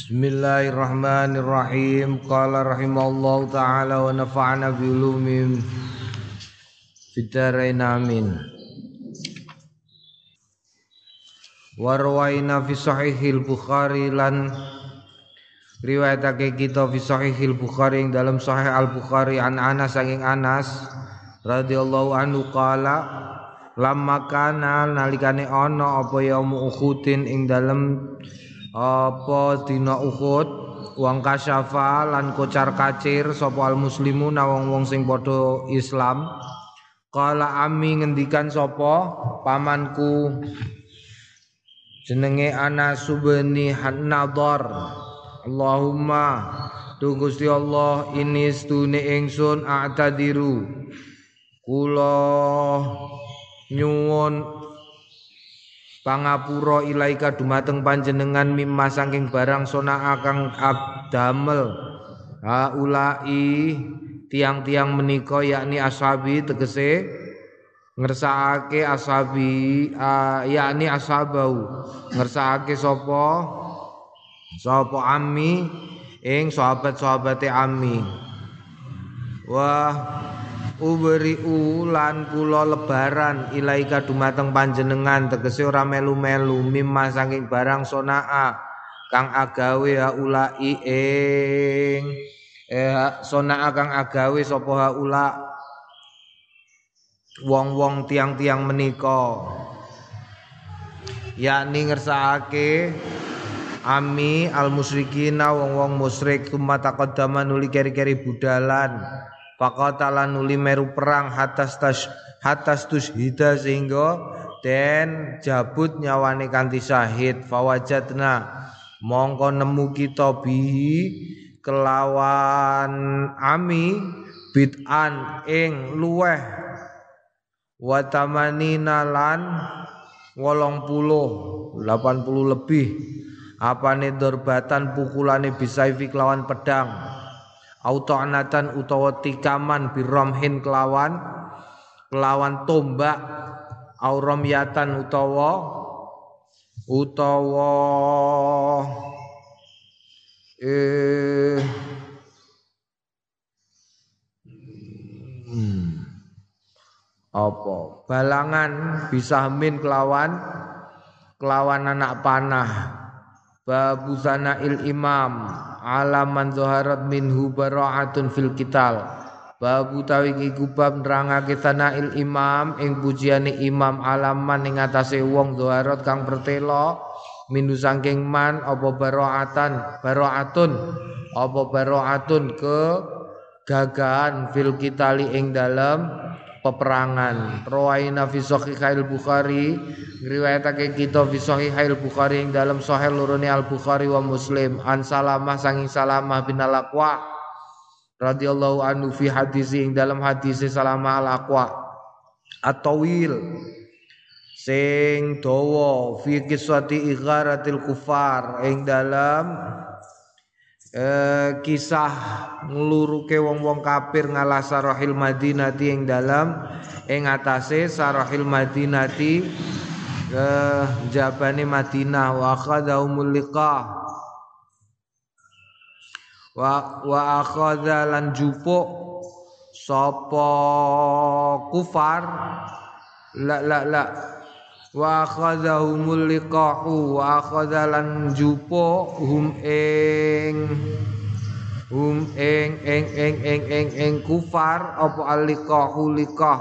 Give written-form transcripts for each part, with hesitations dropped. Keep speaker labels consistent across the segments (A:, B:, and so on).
A: Bismillahirrahmanirrahim. Qala rahimallahu ta'ala wa nafa'ana bi ulumim fid dharain amin. Wa rawaina fi sahihil Bukhari lan riwayatake kita fi sahihil Bukhari ing dalam sahih Al-Bukhari an Anas saking Anas radhiyallahu anhu qala lamma kana nalikane ana apa yaum Uhudin ing dalem apa dina Uhud wong kasyafa lan kocar kacir sapa al muslimuna wong-wong sing padha Islam. Qala ami ngendikan sapa pamanku jenenge Anas bin Nadhar, Allahumma tu Gusti Allah ini stune ingsun a'tadiru kula nyuwun pangapura ilaika dumateng panjenengan mimma saking barang sona kang damel haulai tiang-tiang menika yakni ashabi tegese ngersakake ashabi yakni ashabau ngersakake sapa ammi ing sahabat-sahabate ammi wah uberi ulan kula lebaran ilaika dumateng panjenengan tegese ora melu-melu mimma saking barang sonaa kang agawe haulai ing sonaa kang agawe sapa haula wong-wong tiang-tiang menika yakni ngersakake ami al musyrikina wong-wong musyrik tumata taqaddama nuli keri-keri budalan faqatalan nuli meru perang hatas tushhida sehingga den jabut nyawane kanthi syahid fawajatna mongko nemu kita bihi kelawan ami bid'an ing luweh wa tamanina lan 80 lebih apane dorbatan pukulane bisaifi kelawan pedang auto'anatan utawa tikaman biromhin kelawan tombak auromyatan utawa apa balangan bisahmin kelawan anak panah. Babu sana'il imam alaman zaharat minhu bara'atun fil qital. Babu tawi iku bab nerangake sana'il imam ing pujiane imam alaman ing atase wong zaharat kang pertela minhu saking man apa bara'atun ke gagahan fil qitali ing dalem peperangan. Rawaina fi sahihil Bukhari riwayatake kita fi sahihil Bukhari ing dalam sahih lorone Al Bukhari wa Muslim an Salamah sanging Salamah bin Al-Aqwa radhiyallahu anhu fi hadisi ing dalam hadis Salamah Al-Aqwa at-tawil sing dawa fi qissati igharatil kufar ing dalam kisah ngluruke wong-wong kafir ngalah sarahil madinati ing dalam ing atase sarahil madinati jabane Madinah wa akhadahumul liqah wa akhadha lan jupuk sapa kufar la wa akhadhahumul liqa'u wa akhadhalan jupo hum ing kufar apa al-liqa'u liqah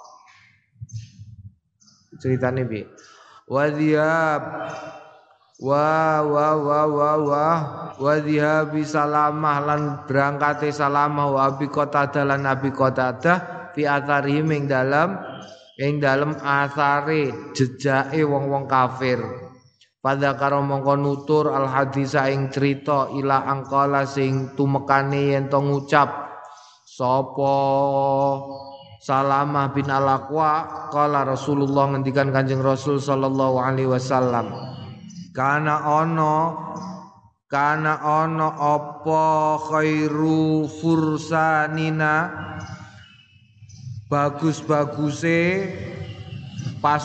A: ceritane piye wa dhiyab wa dhihabi Salamah lan berangkate Salamah wa Abi Qatadah lan Abi Qatadah fi atharihim ing dalem asare jejake wong-wong kafir. Pada karo mongko nutur al hadisa ing cerita ila angkala sing tumekane yen to ngucap sapa Salamah bin Al-Aqwa qala Rasulullah ngendikan Kanjeng Rasul sallallahu alaihi wasallam kana ana apa khairu fursanina bagus-baguse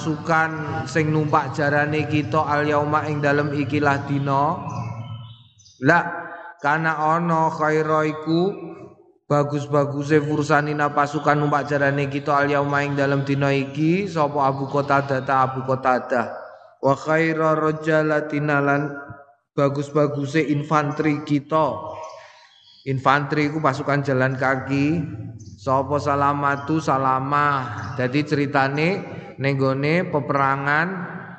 A: pasukan sing numpak jarane kita al yauma ing dalem ikilah dina La kana ono khaira iku bagus-baguse fursanina pasukan numpak jarane kita al yauma ing dalem dina iki sapa Abu Qatadah ta Abu Qatadah wa khaira rajalatina lan bagus-baguse infanteri kita. Infanteri iku pasukan jalan kaki. Sapa Salamatu Salamah. Jadi ceritane ning gone peperangan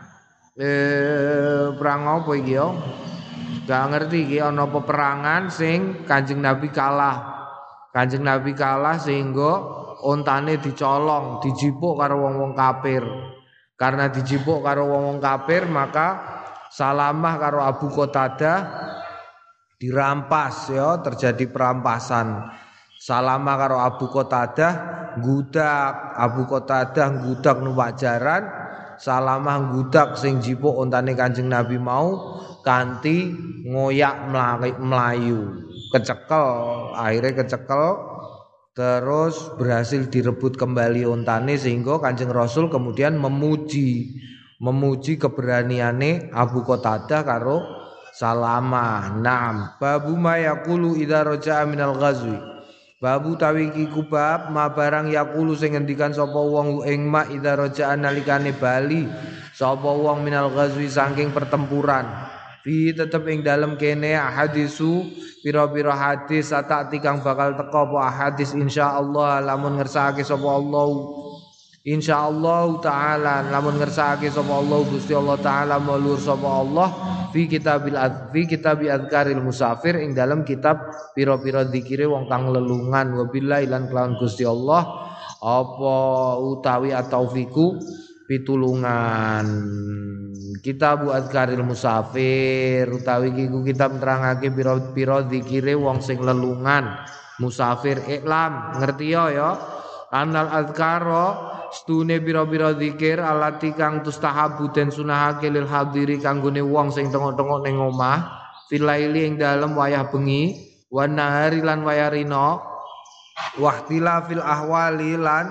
A: perang apa iki yo? Gak ngerti iki ana peperangan sing Kanjeng Nabi kalah. Kanjeng Nabi kalah sehingga ontane dicolong, dijipuk karo wong-wong kafir. Karena dijipuk karo wong-wong kafir maka Salamah karo Abu Qatadah dirampas ya, terjadi perampasan. Salamah karo Abu Qatadah nggudak, Abu Qatadah nggudak numpak jaran, Salamah nggudak sing jipuk ontane Kanjeng Nabi mau kanthi ngoyak melayu. Akhirnya kecekel terus berhasil direbut kembali ontane sehingga Kanjeng Rasul kemudian memuji keberaniane Abu Qatadah karo Salamah. Naam, babu ma yaqulu idza raja'a minal ghazwi. Babu tawiki kubab ma barang yaqulu sing ngendikan sapa wong ing ma idza raja'a nalikane bali sapa wong minal ghazwi saking pertempuran. Fi tetep ing dalem kene hadisu pira-pira hadis satakti kang bakal teka apa hadis insyaallah lamun ngersakake sapa Allah. Insyaallah taala lamun ngersakake sapa Allah Gusti Allah taala maulur sapa Allah fi kitabi adzkaril musafir ing dalam kitab pira-pira zikire wong kang lelungan wabillahi lan kelawan Gusti Allah apa utawi ataufiku pitulungan. Kitab adzkaril musafir utawi iku kitab nerangake pira-pira zikire wong sing lelungan musafir iklam ngerti ya anal adzkara stune bira-bira zikir alati kang tustahabu den sunahake lil hadiri kanggone wong sing tengok-tengok ning omah filaili ing dalem wayah bengi wan nahari lan wayah rina wahtilafil ahwali lan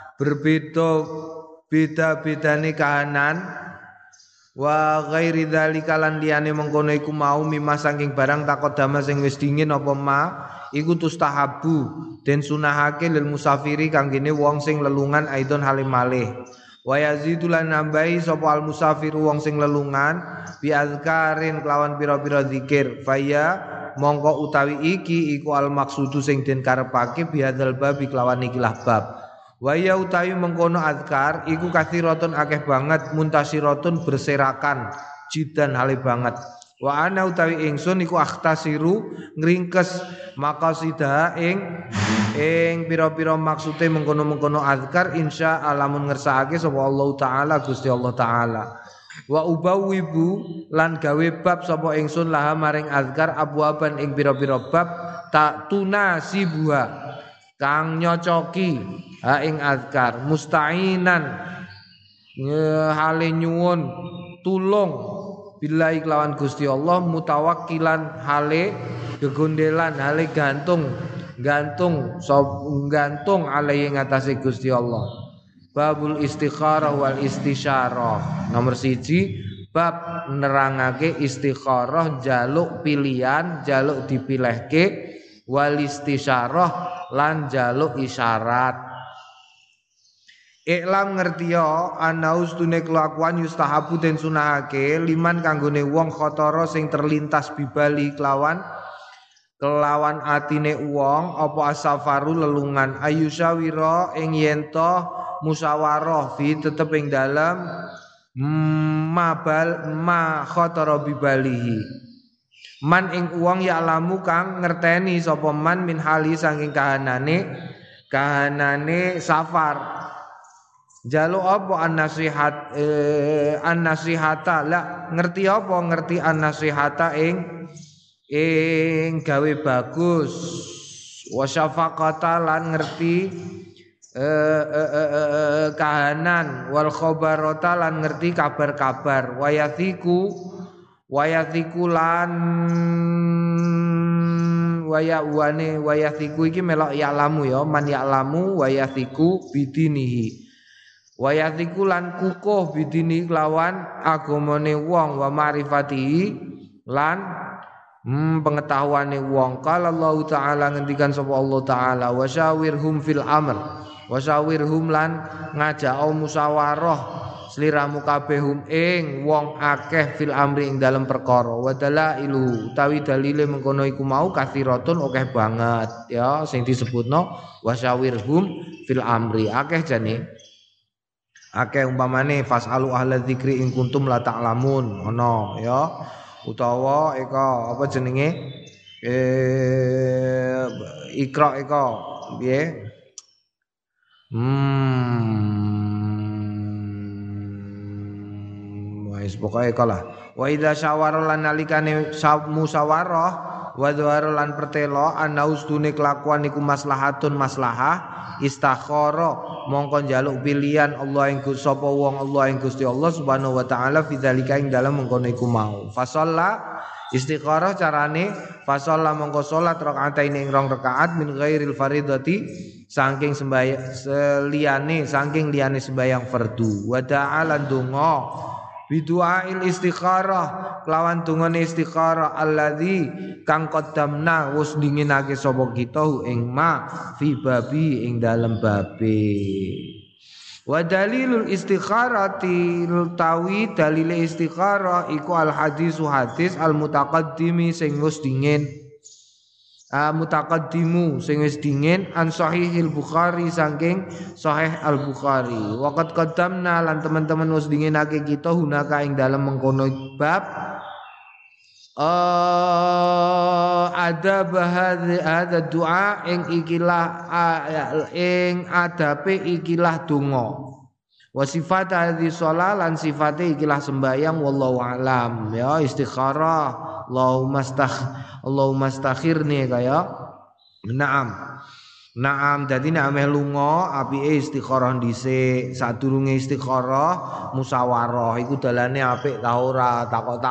A: beda-bedane kahanan wa ghairi dzalika lan liyane mengkono iku mau mimma saking barang takodama sing wis dingin apa ma iku tustahabu den sunahake lil musafiri kanggene wong sing lelungan aidon halim malih wa yazidu lan nambahi sapa al musafir wong sing lelungan bi azkarin kelawan pira-pira zikir faya mongko utawi iki iku al maksudu sing den karepake bi hadzal bab kelawan ikilah bab wa ya utawi mengkono azkar iku kathiratun akeh banget muntasiratun berserakan jidan hale banget wa ana utawi ingsun iku akhtasiru ngringkes maqasidah ing pira-pira maksude mengkono-mengkono azkar insya alamun ngersakake sapa Allah taala Gusti Allah taala wa ubawibu lan gawe bab sapa ingsun laha maring azkar abwaban ing pira-pira bab tak tunasibuha kang nyocoki ha ing azkar musta'inan hale nyuwun tulung billahi kelawan Gusti Allah mutawakkilan hale gegondelan hale gantung alai ngatasi Gusti Allah. Babul istikharah wal istisyarah. Nomor 1 bab nerangake istikharah jaluk pilihan jaluk dipilihke wal istisyarah lan jaluk isyarat. Iklam ngertiya anaus tune kelakuan yustahabu den sunahake liman kanggone wong khotoro sing terlintas bibali kelawan atine wong apa asafaru lelungan ayusawira ing yen to musyawarah fi tetep ing dalem ma khotoro bibalihi man ing wong ya lamu kang ngerteni sapa man min hali saking kahanane safar. Jaluk apa an-nasihata la ngerti apa ngerti an-nasihata ing gawe bagus wa syafaqata lan ngerti kahanan wal khabarata lan ngerti kabar-kabar wayathiku lan wayathiku iki melok ya'lamu ya man ya'lamu wayathiku bidinihi wayatiku lan kukuh bidini lawan agamane wong wa ma'rifatihi lan pengetahuane wong. Qala Allah taala ngendikan sapa Allah taala wasyawirhum fil amr. Wasyawirhum lan ngajak musyawarah sliramu kabehum ing wong akeh fil amri ing dalem perkara. Wadalailu utawi dalile mengkono iku mau kathiratun akeh banget ya sing disebutno wasyawirhum fil amri akeh jane. Akeh umpamane fasalu ahla dzikri in kuntum la ta'lamun ono ya utawa eka apa jenenge ikra eka piye wis pokoke kalah wa idza syawara lan nalikane musyawarah wa dzawara lan pertelo ana ustune kelakuan iku maslahatun maslahah istakhara mongko njaluk pilihan Allah ing sapa wong Allah ing Gusti Allah Subhanahu wa taala fidzalika ing dalem mengkono iku mau fasalla istikharah carane fasalla mongko salat rakaatain ing 2 rakaat min ghairil faridati saking liyane sembayang fardu wa ta'ala donga bidu'ail istikharah kelawan dungane istikharah alladzi kang qaddamna wis dinginake sapa kita ing ma fi babi ing dalem babe wa dalilul istikharati tawi dalile istikharah iku al hadis al mutaqaddimi sing wis dingin mutaqaddimu sing wis dingin an sahihil Bukhari saking sahih al Bukhari waqad qaddamna lan teman-teman wis dinginake kita hunaka ing dalem mengkono bab adab hadza doa ing ikilah ing adabe ikilah donga wa sifat hadhi shalah lan sifate ikilah sembayang wallahu alam ya istikharah Allahumma astakhirni kaya Naam dadi nek ameh lunga apike istikharah dhisik sadurunge istikharah musyawarah iku dalane apik ta ora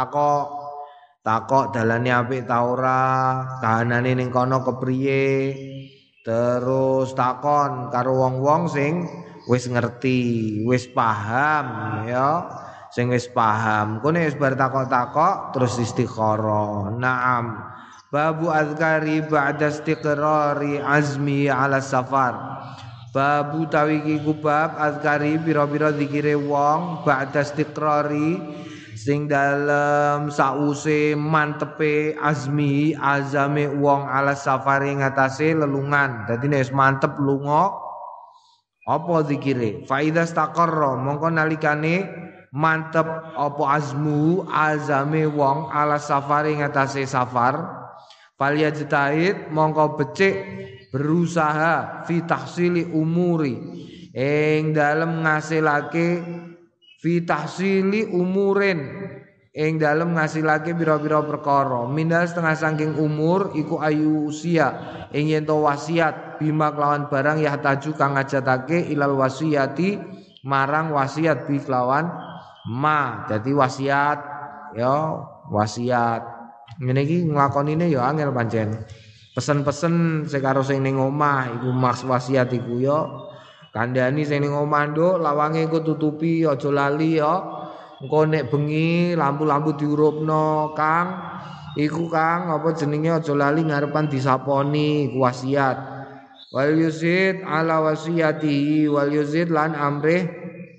A: takok dalane apik ta ora kahanane ning kono kepriye terus takon karo wong-wong sing wis ngerti wis paham ya sing wis paham kene wis bar takok-takok terus istikharah. Naam babu azkari ba'da istiqrari azmi ala safar babu tawiki kubab azkari pira-pira zikire wong ba'da istiqrari sing dalem sause mantepe azame wong ala safari ngatasé lelungan dadi nek wis mantep lunga apa zikire fa idza istaqarra mongko nalikane mantep apa azame wong ala safari ngatasé safar falyajtahid mongko becik berusaha fi tahsili umuri ing dalem ngasilake fi tahsili umurin ing dalem ngasilake pira-pira perkara mindal setengah saking umur iku ayu usia ing yen to wasiat bima kelawan barang yahtaju kang ngajatake ilal wasiyati marang wasiat bi kelawan ma dadi wasiat ya wasiat ngene iki nglakonine ya angel pancen pesen-pesen sing karo sing ning omah iku mas wasiat iku ya kandhani sing ning omah nduk lawange engko tutupi aja lali ya engko nek bengi lampu-lampu diurupno Kang iku Kang apa jenenge aja lali ngarepan disaponi iku wasiat wal yuzid ala wasiyatihi wal yuzid lan amrih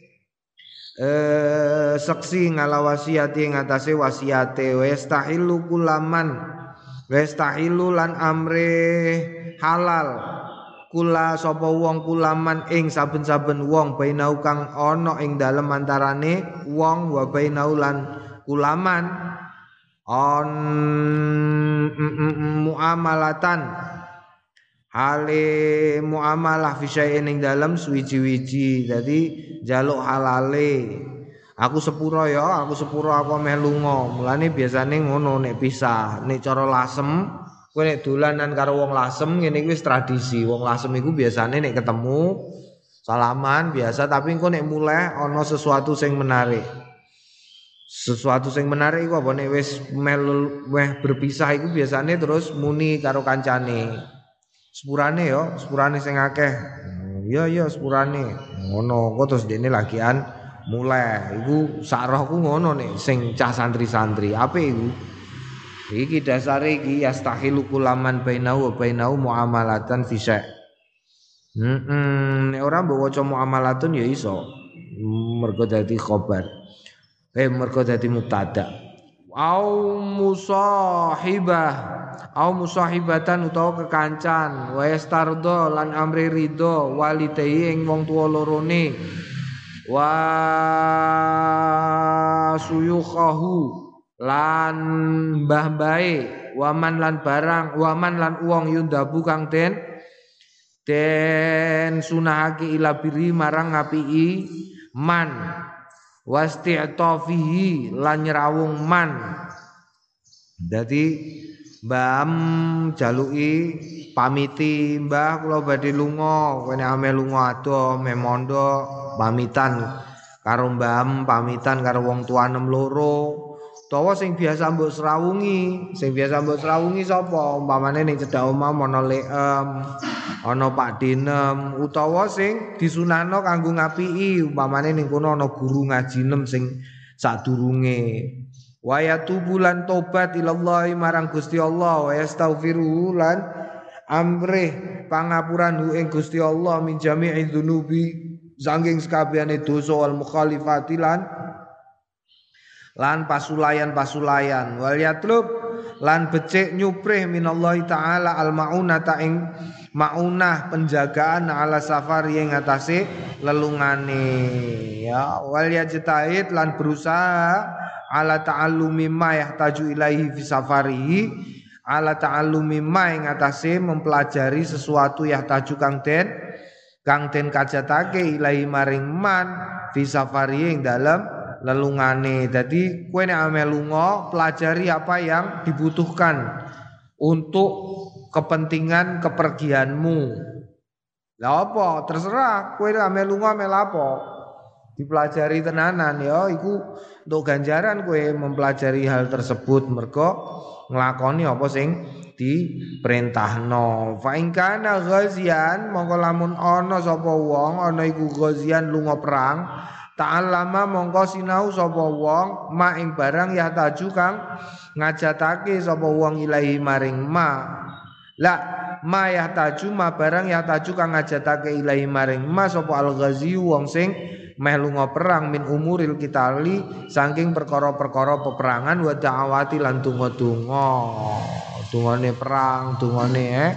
A: saksi ngala wasiati ngatasé wasiate wastahillu lan amre halal kula sapa wong kulaman ing saben-saben wong bainau kang ana ing dalem antarane wong wa bainau lan kulaman on muamalatan hale muamalah fisya'in ing dalem suwiji-wiji dadi njaluk halale aku sepuro aku meh lunga mulane biasane ngono nek pisah nek cara lasem kowe nek dolanan karo wong lasem ngene iki wis tradisi wong lasem iku biasane nek ketemu salaman biasa tapi engko nek mulai ana sesuatu sing menarik iku apa nek wis meh berpisah iku biasane terus muni karo kancane sepurane sing akeh. Iya sepurane. Ngono, kok terus dene lagian mulai. Iku sak rohku ngono nek sing cah santri-santri. Apik iku. Iki dasare iki yastahilu kulaman bainahu wa bainahu muamalatan fi syai'. Nek ora mbok waca muamalatun ya iso. Mergo dadi khobar. Mergo dadi mubtada. Au musahibatan utawa kekancan wa yastardo lan amri ridho walidayhi ing wong tuwa lorone wa suyukhahu lan mbah-mbahe waman lan barang waman lan uang yundabu kang den sunahake ila biri marang ngapii man wasti'tafihi lan nyrawung man. Dadi mbam jaluki pamiti mbah kula badhe lunga kene ame lunga adoh memondo pamitan karo mbam pamitan karo wong tuanem loro utawa sing biasa mbok srawungi sapa umpamane ning cedhak omah ana leem ana Pak Dinem utawa sing disunahno kanggo ngapiki umpamane ning kono ana guru ngajinem sing sadurunge wa yatubu lan tobat ilallahi marang Gusti Allah wa yastaghfiru lan amrih pangapuran hu ing Gusti Allah min jami'i dzunubi saking sakabehane dosa wal mukhalifati lan pasulayan wal yatlub lan becik nyuprih minallahi taala al maunata ing maunah penjagaan ala safari ing atase lelungane ya wal yajtahid lan berusaha ala ta'allumi ma yahtaju ilaihi fi safarihi ala ta'allumi ma ing atase mempelajari sesuatu yahtaju kang den kajatake ilahi maring man fi safarihi ing dalem lelungane. Jadi kowe nek ame lunga pelajari apa yang dibutuhkan untuk kepentingan kepergianmu. Lah apa? Terserah kowe nek ame lunga ame lapo. Dipelajari tenanan ya iku untuk ganjaran kowe mempelajari hal tersebut mergo nglakoni apa sing diperintahno. Fa in kana ghazian mongko lamun ana sapa wong ana iku ghazian lunga perang ta'allama mongko sinau sapa wong ma ing barang ya taju kang ngajatake sapa wong ilahi maring ma ya taju ma barang ya taju kang ngajatake ilahi maring ma sapa al-ghazi wong sing meh lunga perang min umuril kitali saking perkara-perkara peperangan wa da'awati lan donga-donga dungane perang dungane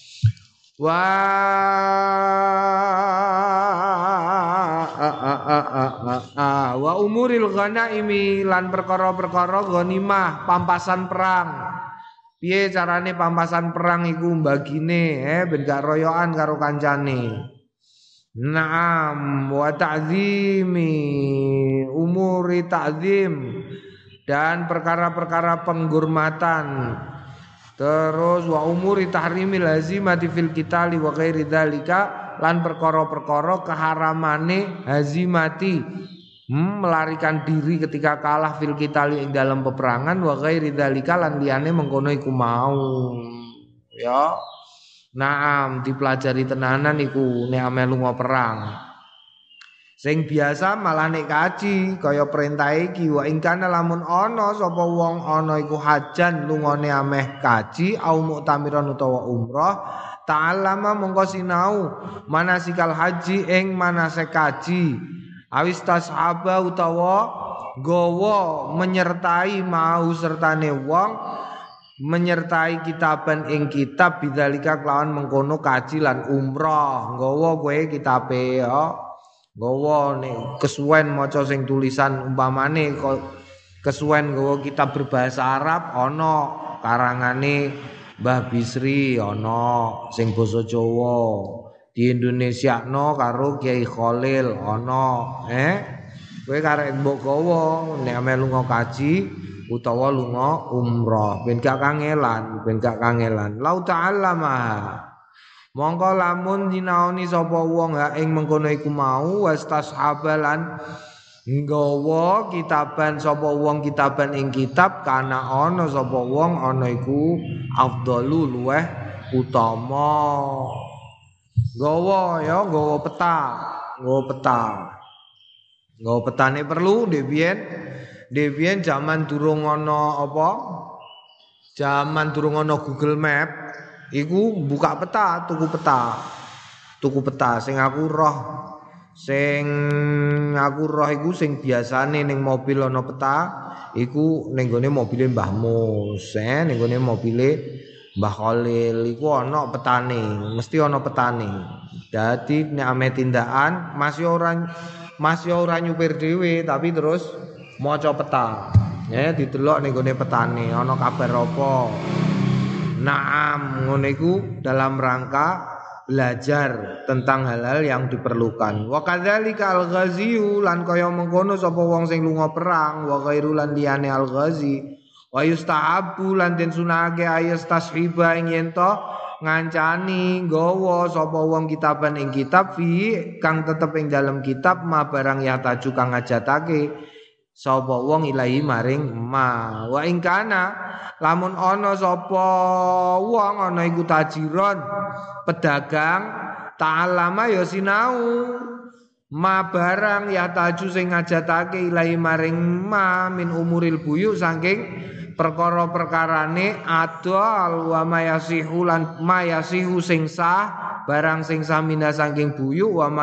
A: wa umuril ghanaimi lan perkara-perkara ghanimah pampasan perang. Piye carane pampasan perang iku mbagine ben gak royokan karo kancane. Naam wa ta'zimi umuri ta'zim dan perkara-perkara penghormatan. Terus wa umuri tahrimil lazimati fil qitali wa ghairi dzalika lan perkara-perkara keharamane hazimati melarikan diri ketika kalah fil qitali ing dalam peperangan wa ghairi dzalika lan liyane mengkono iku mau ya naam dipelajari tenanan iku nek ame lunga perang sing biasa malah nek kaji kaya perintah iki wa ing kana lamun ana sapa wong ana iku hajan lungane ameh kaji au muktamiron utawa umrah ta'allama mongko sinau manasikal haji ing manasik kaji awis tashaba utawa gawa menyertai mau sertane wong menyertai kitaban ing kitab bidzalika kelawan mengkono kaji lan umrah nggawa kowe kitabe ya nggawa nek kesuwen maca sing tulisan umpamane kesuwen nggawa kitab berbahasa Arab ana karangane Mbah Bisri ana sing basa Jawa di Indonesiano karo Kiai Khalil ana kowe karek mbok gawa nek ame lunga kaji utawa lunga umrah ben gak kangelan lau ta'allama mongko lamun dinaoni sapa wong ha ing mengkono iku mau wastashabalan nggawa kitaban sapa wong kitaban ing kitab kana ana sapa wong ana iku afdalu luweh utama nggawa ya nggawa petane perlu Debian zaman durung ana apa Zaman durung ana Google Map, iku buka peta, tuku peta. Tuku peta sing aku roh. Sing aku roh iku sing biasane ning mobil ana peta, iku ning gone mobile Mbah Mus, ning gone mobile Mbah Khalil iku ana petane, mesti ana petane. Dadi nek ame tindakan masih ora nyupir dhewe tapi terus maca peta. Didelok ning gone petane ana kabar apa. Naam ngono iku dalam rangka belajar tentang hal-hal yang diperlukan. Wa kadzalika al-ghaziyu lan kaya mengkono sapa wong sing lunga perang wa ghairu lan liyane al-ghazi wa yustahabu lan den sunahake ayas tashiba ing yen to ngancani nggawa sapa wong kitaban ing kitab fi kang tetep ing dalam kitab ma barang ya taju kang ngajatake sapa wong ilahi maring ma wa ing kana lamun ana sapa wong ana iku tajiron pedagang ta'allama ya sinau ma barang ya taju sing ngajatake ilahi maring ma min umuril buyu saking perkara-perkarane adol wa mayasihu lan mayasihu sing sah barang sing sah mina saking buyu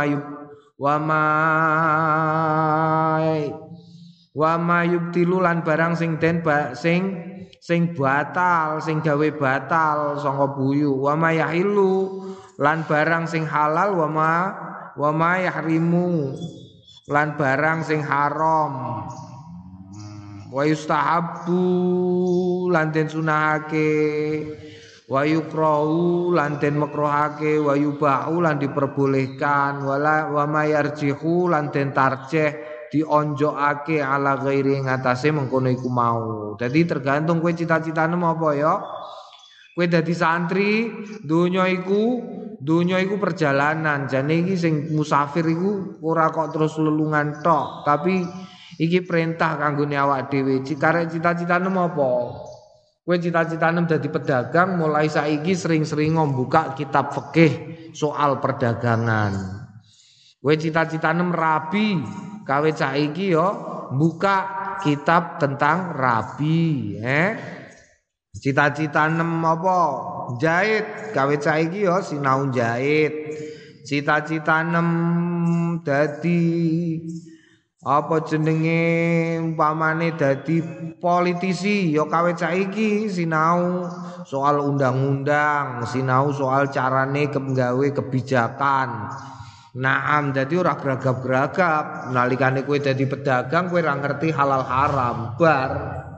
A: wa mayubtilu lan barang sing den sing batal sing gawe batal saka buyu wa mayahilu lan barang sing halal wa mayahrimu lan barang sing haram wa yustahabbu lan den sunahake wa yukrahu lan den makruhake wa yubahu lan diperbolehkan wa mayarjihu lan den tarjih dionjokake ala ghairi ngatasé mengkono iku mau. Jadi tergantung kowe cita-citane apa ya. Kowe dadi santri, donya iku perjalanan. Jane iki sing musafir iku ora kok terus lelungan tok, tapi iki perintah kanggone awak dhewe. Karek cita-citane apa? Kowe cita-citane dadi pedagang, mulai saiki sering-sering membuka kitab fikih soal perdagangan. Kowe cita-citane rabi, kawe saiki yo buka kitab tentang rabi, Cita-citane apa? Jahit, kawe saiki yo sinau jahit. Cita-citane dadi apa jenenge umpamane dadi politisi yo kawe saiki sinau soal undang-undang, sinau soal carane gawe kebijakan. Naam, dadi ora geragap-geragap. Nalikane kowe dadi pedagang kowe ora ngerti halal haram. Bar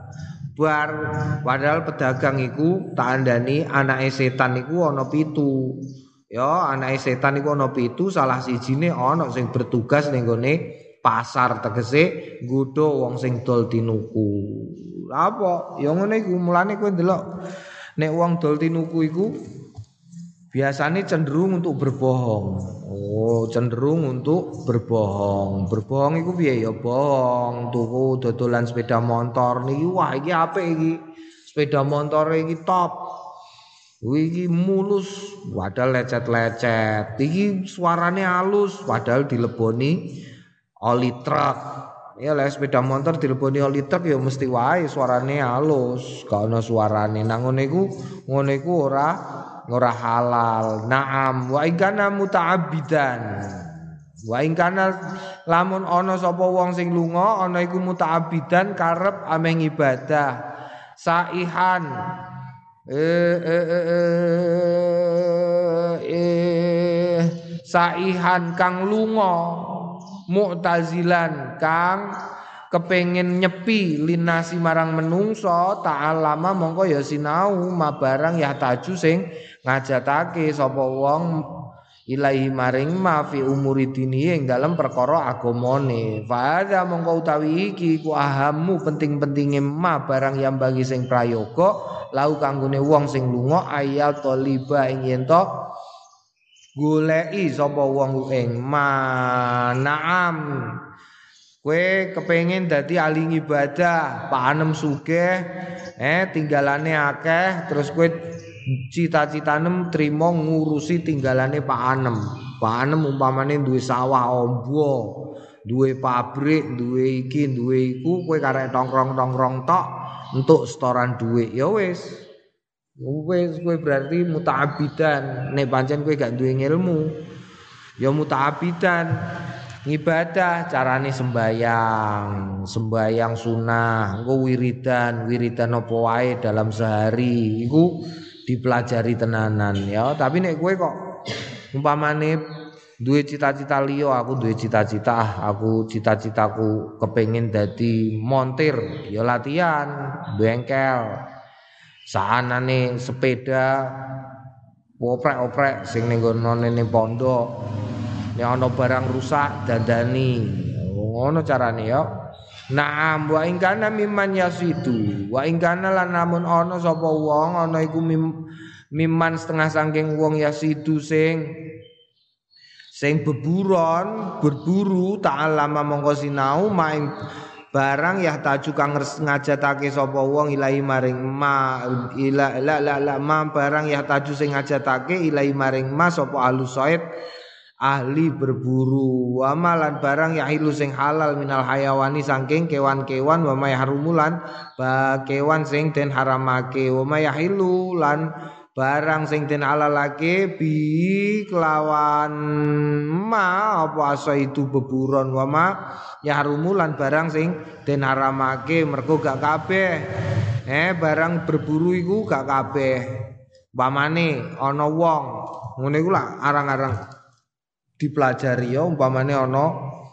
A: padahal pedagang iku tak andani anake setan iku ana 7. Ya, anake setan iku ana 7, salah sijine ana sing bertugas ning gone pasar tegese nggodho wong sing dol tinuku. Apa? Ya ngene iku mulane kowe ndelok nek wong dol tinuku iku biasanya cenderung untuk berbohong. Cenderung untuk berbohong. Berbohong itu piye ya bohong. Tuku dodolan sepeda motor niki wah iki apik iki. Sepeda motor iki top. Iki mulus padahal lecet-lecet. Iki suarane halus padahal dileboni oli truk. Ya lek sepeda motor dileboni oli truk ya mesti wae suarane halus. Gak ono suarane. Nang ngono iku ora halal. Naam wa ingkana muta'abbidan. Wa ingkana lamun ana sapa wong sing lunga ana iku muta'abbidan karep ameh ibadah. Saihan saihan kang lunga mu'tazilan kang kepengin nyepi linasi marang menungso ta'alama mongko ya sinau mabarang ya taju sing ngajatake sapa wong ilahi maring ma fi umuri dini ing dalam perkara agamane fa ada mongko utawi iki ku ahamu penting-pentinge ma barang yang bagi sing prayoga lau kanggone wong sing lunga ayal toliba ing yen to goleki sapa wong ing ma naam. Kowe kepengin dadi ahli ibadah, panem sugih, tinggalane akeh, terus kowe cita-citane trimo ngurusi tinggalane Pak Anem. Pak Anem umpamane duwe sawah ombo, duwe pabrik, duwe iki, duwe iku, kowe karek tongkrong-tongkrong tok, entuk setoran dhuwit ya wis kowe berarti muta'abbidan nek pancen kowe gak duwe ilmu ya muta'abbidan ibadah carane sembayang sunah engko wiridan apa wae dalam sehari iku dipelajari tenanan ya tapi nek kowe kok umpamane duwe cita-cita liya aku duwe cita-cita aku cita-citaku kepengin dadi montir ya latihan bengkel saanane sepeda oprek-oprek sing ning nggonane pondok nek ana barang rusak dandani ngono carane ya Naam wa in kana mimman yasidu wa in kana lan namun ana sapa wong ana iku mimman setengah saking wong yasidu sing berburu ta'allama mongko sinau maing barang ya taju kang ngajatake sapa wong ilahi maring ma barang ya taju sing ngajatake ilahi maring ma sapa alusaid ahli berburu wa malan barang ya ilu sing halal minal hayawani saking kewan-kewan wa may harumulan kewan sing den haramake wa may yahilu lan barang sing den halalake bi kelawan ma apa asa itu beburon wa ma yahrumulan barang sing den haramake mergo gak kabeh barang berburu iku gak kabeh umpamane ana wong ngene iku lah arang-arang dipelajari ya umpamane ana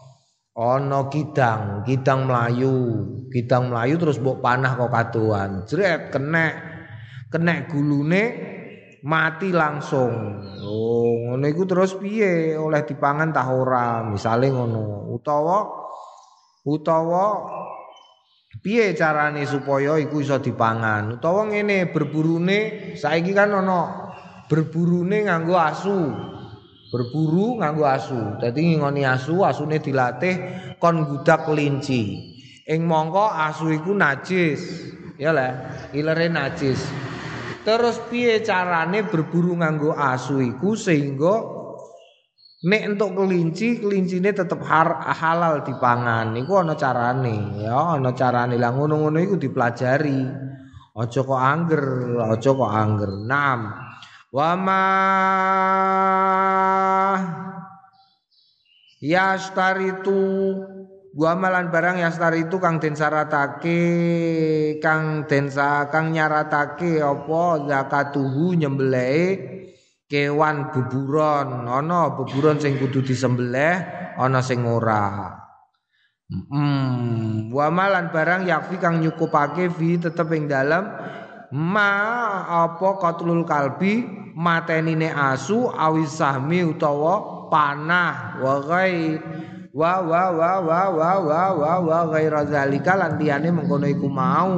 A: kidang mlayu terus mbok panah kok kadoan jret kenek gulune mati langsung ngono iku terus piye oleh dipangan ta ora misale ngono utawa piye carane supaya iku iso dipangan utawa ngene berburune saiki kan ana berburune nganggo asu berburu nganggo asu. Dadi ngoni asu, asune dilatih kon gudak kelinci. Ing mongko asu iku najis. Ya lah, ilere najis. Terus piye carane berburu nganggo asu iku sehingga nek entuk kelinci, kelincine tetep halal dipangan. Iku ana carane, ya, ana carane. Lah ngono-ngono iku dipelajari. Aja kok angger. Naam. Wa ma yastaritu wa malan barang yastaritu kang den syaratake kang nyaratake apa zakatuhu nyembelih kewan beburon ana beburon sing kudu disembelih ana sing ora wa malan barang yakfi kang nyukupake fi tetep ing dalem ma apa qatlul kalbi matenine asu awis sahmi utawa panah wa ghaira zalika lan liyane mengkono iku mau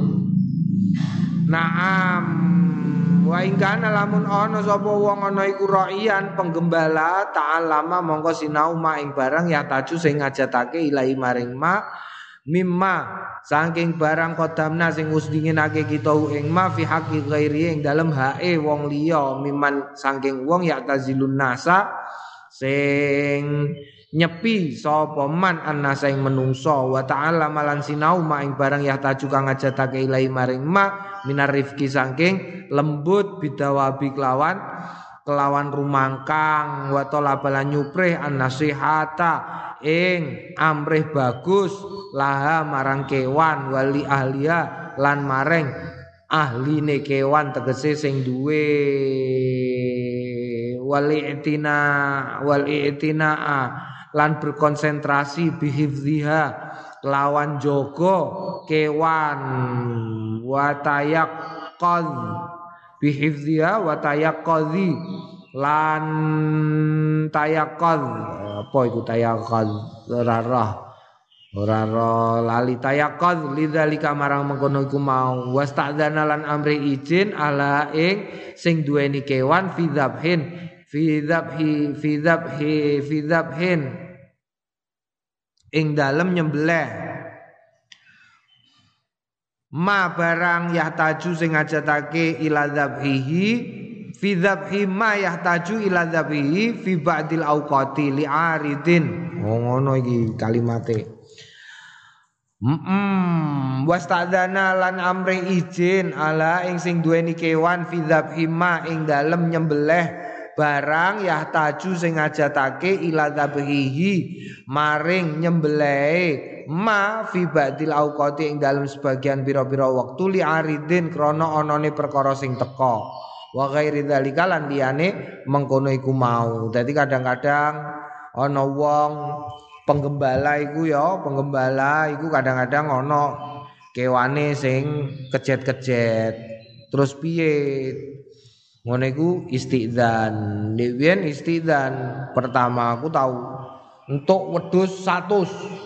A: naam wa ingkana lamun ana sapa wong ana iku ra'iyan penggembala ta'allama mongko sinau ma ing barang ya taju sing ngajatake ilahi maring ma mimma saking barang kodamna sing wis dinginake kita ing ma fi haqqi ghairi ing dalem hae wong liya mimman saking wong ya tazilun nasa sing nyepi sapa man annasa ing menungso wa ta'ala malan sinau ma ing barang ya taju kang ngajatake ilahi maring ma minar rifqi saking lembut bidawabi kelawan rumangkang wa talabalan nyuprih an-nasihata ing amrih bagus laha marang kewan wali ahliya lan maring ahline kewan tegese sing duwe wal i'tina lan berkonsentrasi bihifziha lawan jogo kewan wa tayaqqaz bihifziha wa tayaqqazi lan tayaqqaz apa iku tayaqqaz ora lali tayaqqaz lidzalika marang mengkono iku mau wasta'dzana lan amri izin ala ing sing duweni kewan fi dzabhin ing dalem nyembelih ma barang yahtaju sing ngajatake ila dzabhihi fi dzabhi ma yahtaju ila dzabhihi fi ba'dil auqati li'aridin ngono iki kalimate Wastadzana lan amri izin ala ing sing duweni kewan fi dzabhima ing dalem nyembelih barang yahtaju sing ngajatake ila dzabhihi maring nyembelih ma fi ba'dil auqati ing dalem sebagian pira-pira wektu li aridin krana anane perkara sing teka wa ghairi dzalika lan liyane mengkono iku mau. Dadi kadang-kadang ana wong penggembala iku kadang-kadang ana kewane sing kejet-kejet. Terus piye? Ngono iku istidzan. Dewen istidzan. Pertama aku tahu untuk wedhus 100.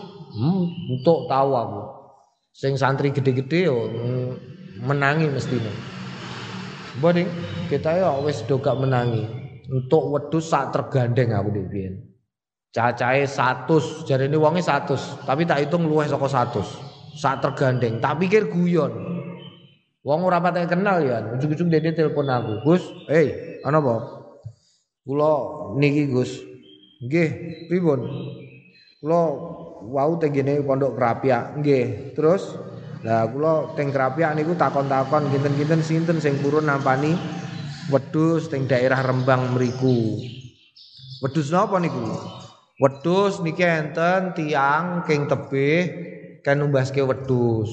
A: Untuk tahu aku. Sing santri gede-gede yo menangi mestine. Boding kita ya wis do gak menangi. Untuk wedhus sak tergandeng aku dewen. Cacahe 100, jarene wonge 100, tapi tak hitung luwih saka 100. Sak tergandeng, tak pikir guyon. Wong ora pateke kenal ya, ujug-ujug dene telepon aku. Gus, ana apa? Kula niki Gus. Nggih, pripun? Kula wau tenggene pondok Krapyak. Nggih, terus lah kula teng Krapyak niku takon-takon kinten-kinten sinten sing purun nampani wedhus teng daerah Rembang mriku. Wedhus napa niku? Wedhus niki enten tiyang king tebih kan numbaske wedhus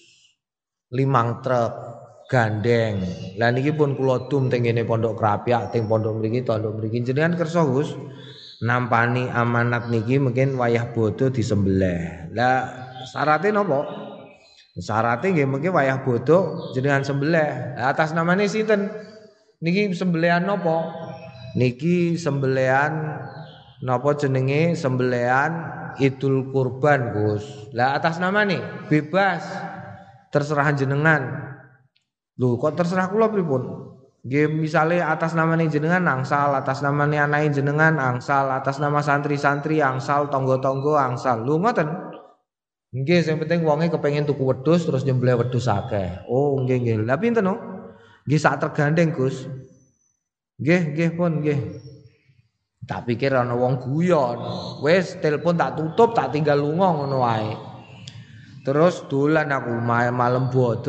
A: 5 truk gandeng. Lah niki pun kula dum teng ngene Pondok Krapyak teng pondok mriki jenengan kersa Gus nampani amanat niki mungkin wayah bodo disembelih. Lah syaratnya napa? Syaratnya nggih mungkin wayah bodo jenengan sembelih. Atas namane sinten? Niki sembelihan napa? Niki sembelihan napa jenenge sembelihan Idul Kurban Gus. Lah atas nama nih bebas terserah jenengan. Lho kok terserah kula pripun? Nggih misale atas nama nih jenengan angsal, atas nama nih anake jenengan angsal, atas nama santri-santri angsal, tonggo-tonggo angsal. Lho ngoten. Nggih sing penting wonge kepengin tuku wedhus terus nyembelih wedhus akeh. Oh nggih. Lah pinten no? Nggih sak tergandeng Gus. Nggih pun nggih. Tak pikir ana wong guyon. Wis telepon tak tutup, tak tinggal lunga ngono wae. Terus dolan aku malam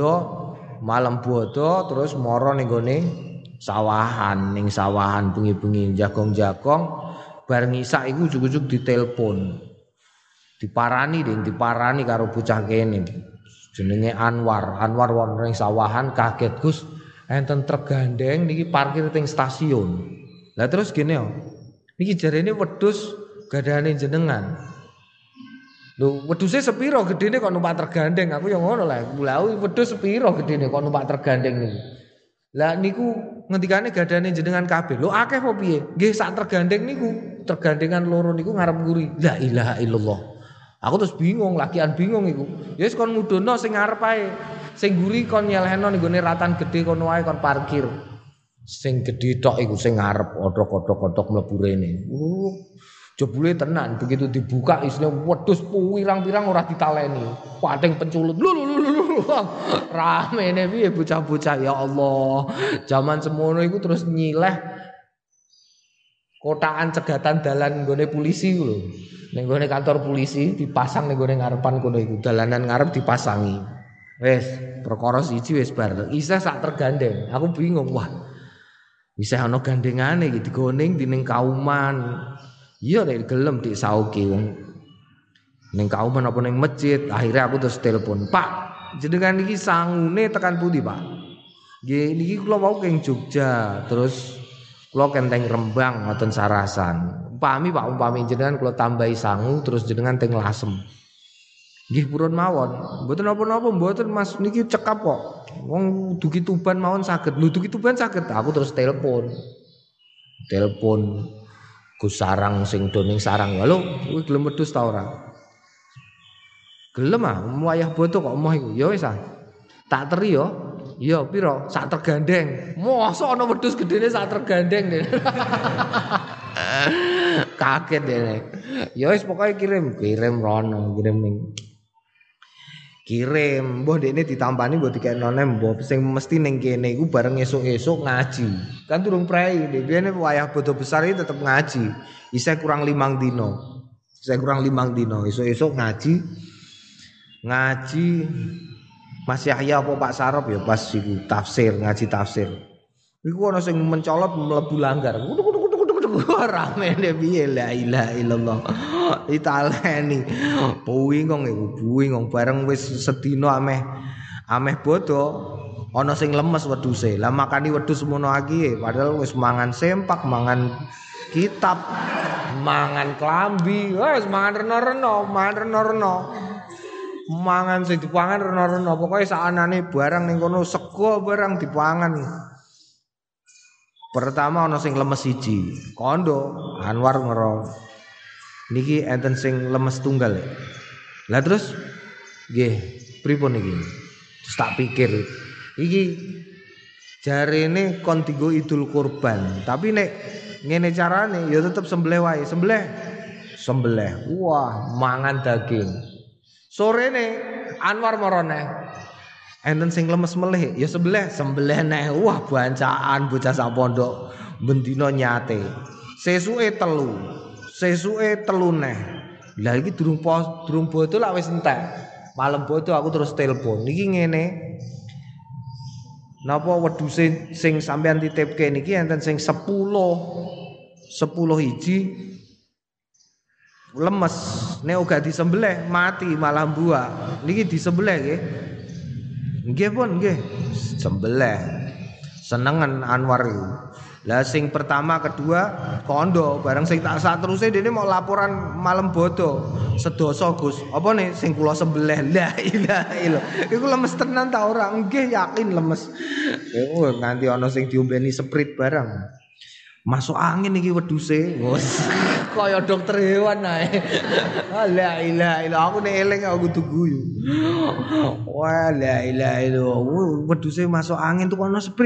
A: bodo terus moro ning gone sawahan, bengi-bengi jagong-jagong bar ngisak iku ujug-ujug ditelepon. Diparani karo bocah kene. Jenenge Anwar wonten ning sawahan kaget Gus, enten truk gandeng niki parkir teng stasiun. Lah terus gene yo. Niki jarene wedhus gadane jenengan. Lho, wedhuse sepiro gedene kok numpak tergandeng? Aku ya ngono lah. Lah wedhus sepiro gedene kok numpak tergandeng niku. Lah niku ngendikane gadane jenengan kabeh. Lho akeh apa piye? Nggih sak tergandeng niku. Tergandengan loro niku ngarep nguri. La ilaha illallah. Aku terus bingung, lakian bingung iku. Ya wis kon ngudono sing ngarep ae. Sing nguri kon nyelehno ning gone ratan gedhe kono wae kon parkir. Sing gedhe tok iku sing ngarep odhok-odhok mlebu rene. Jebule tenan begitu dibuka isine wedhus pirang-pirang ora ditaleni. Pating penculut. Lho. Ramene piye bocah-bocah ya Allah. Zaman semono iku terus nyileh kotakan cegatan dalan nggone polisi ku lho. Ning nggone kantor polisi dipasang ning nggone ngarepan kono iku. Dalanan ngarep dipasangi. Wis, perkara siji wis bar. Isih sak tergandeng. Aku bingung, wah. Isih ana gandengane iki digoning dining kauman. Iya nek gelem disauki wong ning kauman apa ning masjid. Akhirnya aku terus telepon, "Pak, jenengan iki sangune tekan pundi, Pak?" Nggih, niki kula wau keng Jogja, terus kula kenteng Rembang ngoten Sarasan. Umpami jenengan kula tambahi sangu terus jenengan teng Lasem. Nggih purun mawon. Mboten napa-napa, mboten Mas niki cekap kok. Wong dugi Tuban mawon saged. Lho dugi Tuban saged. Aku terus telepon Gus Sarang sing doning sarang. Halo, kowe gelem wedhus ta ora? Gelem ah, wayah boto kok emoh iku. Ya wis ah. Tak teri yo. Iya, piro? Sak tergandeng. Mosok ana wedhus gedene sak tergandeng. Kaget dene. Ya wis pokoke kirim rono, kirim ning kirim, mbah dekne ditampani mbah dikeknone mbah sing mesti ning kene iku bareng esuk-esuk ngaji. Kan durung prei, dene wayah bodo besar iki tetep ngaji. Isih kurang 5 dino. Esuk-esuk ngaji. ngaji Mas Yahya apa Pak Sarop ya pas iku tafsir, ngaji tafsir. Iku ana sing mencolot mlebu langgar. Ramene piye la ilaha illallah. Ditaleni. Buingong iku, buingong bareng wis sedina ameh bodo ana sing lemes wedhuse. Lah makani wedhus semono iki padahal wis mangan sempak, mangan kitab, mangan klambi, wis mangan reno-reno, mangan sing dipangan reno-reno, pokoke sakanane barang ning kono sego barang dipangan. Pertama ana sing lemes siji, kondo Anwar ngero. Niki enten sing lemes tunggal. Lah terus nggih, pripun iki? Terus tak pikir iki jarene kon dienggo Idul Kurban, tapi nek ngene carane ya tetep sembelih wae, sembelih. Wah, mangan daging. Sorene Anwar marane enten sing lemes melih ya sembelih neh. Wah, bancaan bocah sak pondok bendina nyate. Sesuke telu neh. Lah iki durung bodo lak wis entek. Malam bodo aku terus telepon. Niki ngene. Napa wedhuse sing sampean titipke niki enten sing 10 hiji lemes. Nek uga disembelih mati malah buah. Niki disembelih nggih. Nggih pun nggih. Sembelih. Senengen Anwar iku. Lah sing pertama kedua kondo bareng sing tak sateruse dene mau laporan malam bodo. Sedoso Gus. Apa nih sing kula sembelih. La ilaha illallah. Iku lemes tenan ta ora? Nggih yakin lemes. Nganti ana sing diombeni sprit bareng. Masuk angin iki wedhuse. Kaya dokter hewan ae. La ilaha illallah. Aku nek eling aku kudu guyu. Wah, la ilaha illallah. Wedhuse masuk angin tukono sprit.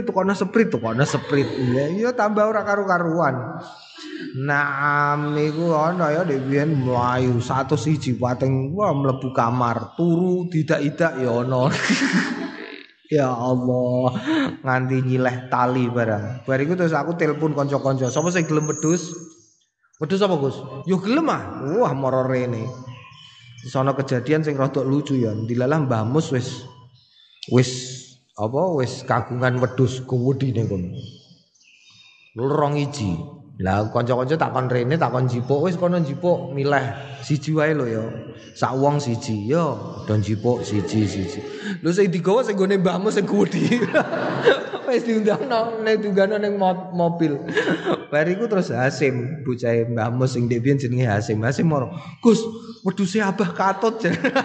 A: Ya tambah ora karu-karuan. Naam niku ana ya nek biyen mlayu 101 pating wah mlebu kamar, turu didak-idak ya ana. Ya Allah, nganti nyileh tali barang. Bariku terus aku telepon kanca-kanca, sapa sing gelem wedhus? Wedhus apa, Gus? Yo gelem ah. Wah, moro rene. Sono kejadian sing rada lucu ya. Dilalah Mbah Mus wis kagungan wedhus kuwedine kono. Lorong iji. Lah kanca-kanca takon rene, takon jipuk, wis kono jipuk milih siji wae lho ya. Sak wong siji yo, don jipuk siji. Lho sing digawa sing gone mbahmu sing kuwedi. Wis diundangno nek tunggano ning mobil. Bariku terus Hasim, bocahe mbahmu sing ndek biyen jenenge Hasim. Hasim moro, "Gus, wedhuse Abah Katut."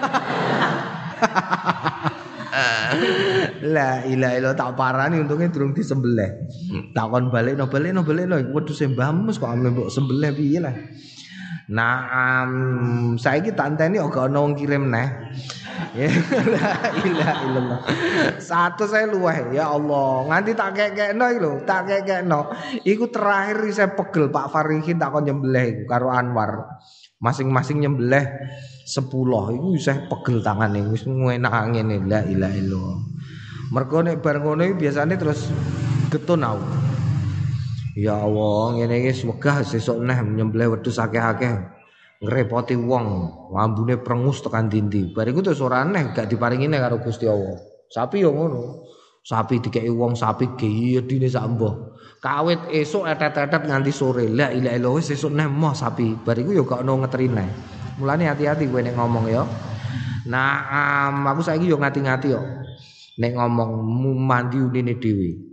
A: La ilaha illallah tak parani untunge durung disembelih. Takon balekno wedhuse mbahmu kok ame mbok sembelih piye lah. Nah, saiki tak enteni kok ana wong kirim neh. La ilaha illallah. Satu saya luweh ya Allah. Nganti tak kekekno iki lho, tak kekekno. Iku terakhir saya pegel Pak Farihin takon nyembelih iku karo Anwar. Masing-masing nyembelih 10 iku isih pegel tangane wis enak ngene la ilaha illallah. Mergo nek bar ngono iki biasane terus getun aku. Ya Allah, ngene iki wegah sesuk neh nyembelih wedhus akeh-akeh. Ngrepoti wong, ambune prengus tekan dindi. Bariku terus ora aneh gak diparingi nek karo Gusti Allah. Sapi yo ngono. Sapi dikeki wong sapi gedine sak mbah. Kawit esuk etet-etet nganti sore. La ilaha illallah wis sesuk neh moh sapi. Bariku yo gak ono ngeteri neh. Mulane hati-hati kowe nek ngomong ya. Nah, aku saiki yo ngati-ngati yo. Nek ngomong mandi unine dhewe.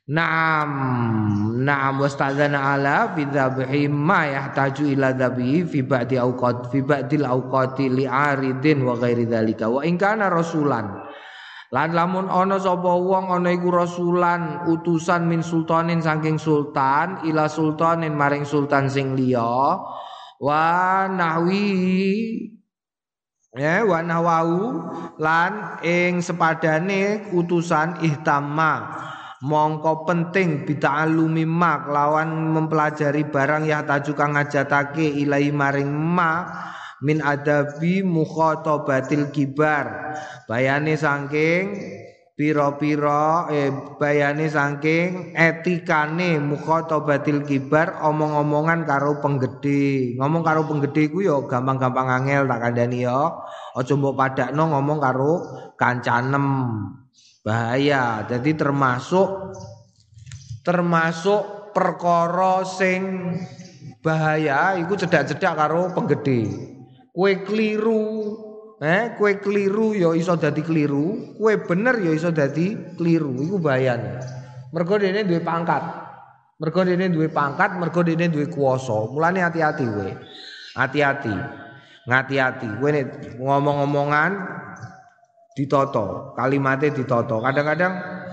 A: Naam wastadzana ala fi dzabhi ma yahtaju ila dzabhi fi ba'dil awqati li'aridin wa ghairi dzalika wa in kana rasulan. Lan lamun ana sapa wong ana iku rasulan utusan min sultanin saking sultan ila sultanin maring sultan sing liya wa nahwi wa nahwau lan ing sepadane utusan ihtamma mongko penting bita'allumi mak lawan mempelajari barang ya taju kang ngajatake ilahi maring ma min adabi mukhatabatil kibar bayane saking pira-pira bayane saking etikane mukhatabatil kibar omong-omongan karo penggede. Ngomong karo penggede iku ya gampang-gampang angel tak kandhani ya. Aja mbok padakno ngomong karo kancanem. Bahaya. Jadi termasuk perkara sing bahaya iku cedak-cedak karo penggede. Kowe keliru ya iso dadi keliru, kowe bener ya iso dadi keliru. Iku bahayane. Mergo dene duwe pangkat. Mergo dene duwe kuwasa. Mulane hati-hati kowe. Hati-hati. Ngati-hati. Kowe nek ngomong-omongan ditata, kalimate ditata. Kadang-kadang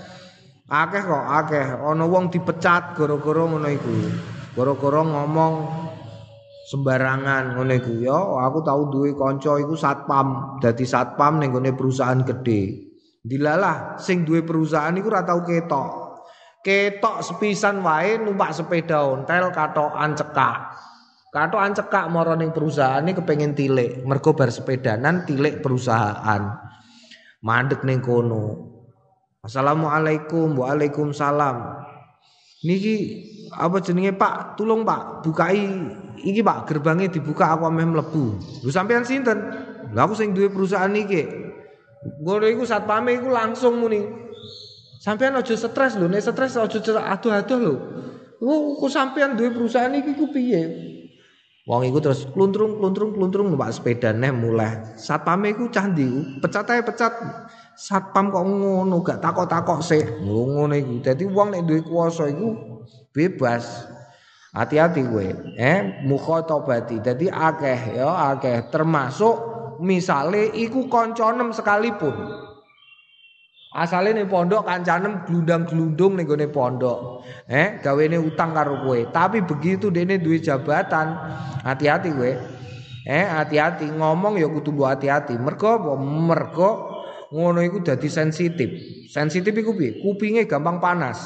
A: akeh ana wong dipecat gara-gara ngono iku. Gara-gara ngomong sembarangan ngono iku ya. Aku tahu duwe kanca iku satpam, dadi satpam ning gone perusahaan gede. Dilalah sing duwe perusahaan iku ora tau ketok. Ketok sepisan wae numpak sepeda ontel katokan cekak. Katokan cekak mara ning perusahaan iki kepengin tilik, mergo bar sepedanan tilik perusahaan. Mandek ning kono. Assalamualaikum, waalaikumsalam. Niki apa jenenge Pak? Tulung Pak, bukai iki Pak, gerbangnya dibuka aku ameh mlebu. Lho sampean sinten? Lah aku sing duwe perusahaan iki. Ngono iku satpame iku langsung muni. Sampean aja stres lho, nek stres aja aduh-aduh lho. Ku sampean duwe perusahaan iki ku piye? Wong iku terus kluntrung numpak sepeda neh mulai. Satpame iku cah ndi? Pecat ae pecat. Satpam kok ngono gak takok-takok sik. Ngono iku. Dadi wong nek duwe kuwasa iku bebas. Hati-hati kowe. Mukhatabati. Dadi akeh termasuk misale iku kancanem sekalipun. Asale ning pondok kancanem glundang-glundung ning gone pondok. Gawene utang karo kowe. Tapi begitu dene duwe jabatan, hati-hati kowe. Hati-hati ngomong ya kudu mbok hati-hati. Mergo apa? Mergo ngono iku dadi sensitif. Sensitif iku piye? Kupinge gampang panas.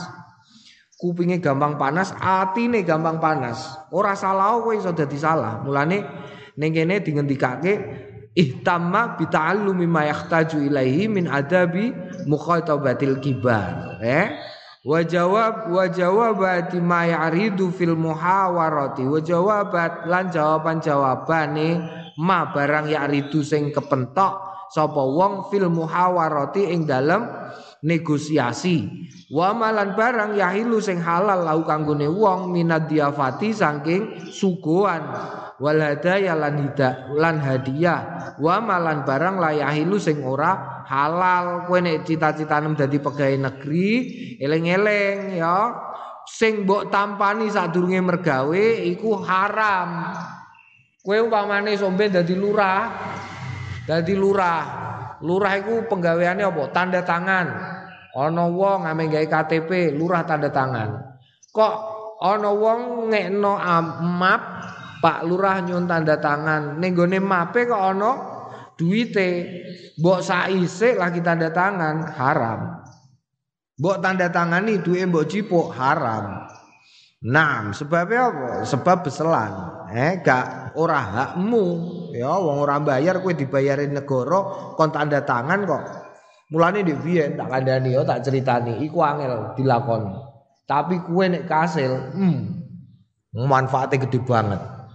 A: Atine gampang panas. Ora salah kowe iso dadi salah. Mulane ning kene dingendikake ihtamma bi ta'allumi ma yahtaju ilaihi min adabi mukhatabatil kibar. Wa jawabati ma ya'ridu fil muhawarati. Wa jawabat lan jawaban-jawabane ma barang ya'ridu sing kepentok sapa wong fil muhawarati ing dalem negosiasi. Wa malan barang yahilu sing halal lau kanggone wong minad diafati saking suguhan wal hadaya lan hadiah. Wa malan barang layahilu sing ora halal. Kowe nek cita-citanem dadi pegawai negeri eling-eling ya sing mbok tampani sadurunge mergawe iku haram. Kowe umpamane sombe dadi lurah. Lurah iku penggaweane apa? Tanda tangan. Ana wong ame gawe KTP, lurah tanda tangan. Kok ana wong ngekno map, Pak Lurah nyun tanda tangan. Ning gone mape kok ana duwite. Mbok saisik lagi tanda tangan, haram. Mbok tanda tangani duwe mbok jipuk, haram. Nah, sebabnya apa? Sebab beselan. Gak ora hakmu. Ya wong ora bayar kowe dibayarin negara kon tanda tangan kok. Mulane ndek biyen tak kandhani ya tak critani iku angel dilakoni. Tapi kowe nek kasil, manfaate gede banget.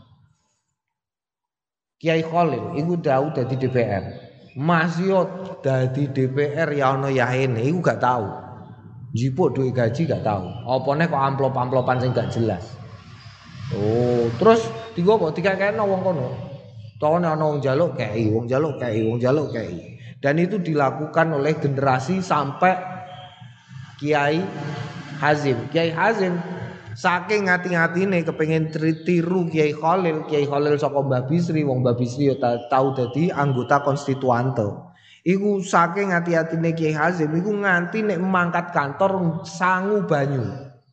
A: Kiai Khalil iku tau dadi DPR. Mas yo dadi DPR ya ono yahene iku gak tahu. Jipuk duit gaji gak tahu. Opone kok amplop-amplopan sing gak jelas. Oh, terus digo kok dikakekno wong kono. Tone ana wong njaluk kei. Dan itu dilakukan oleh generasi sampai Kiai Hazim. Kiai Hazim saking ngati-ngatine kepengin tiru Kiai Khalil saka Mbah Bisri, wong Mbah Bisri yo tau dadi anggota konstituante. Iku saking ngati-atine Kiai Hazim iku nganti nek mangkat kantor sangu banyu,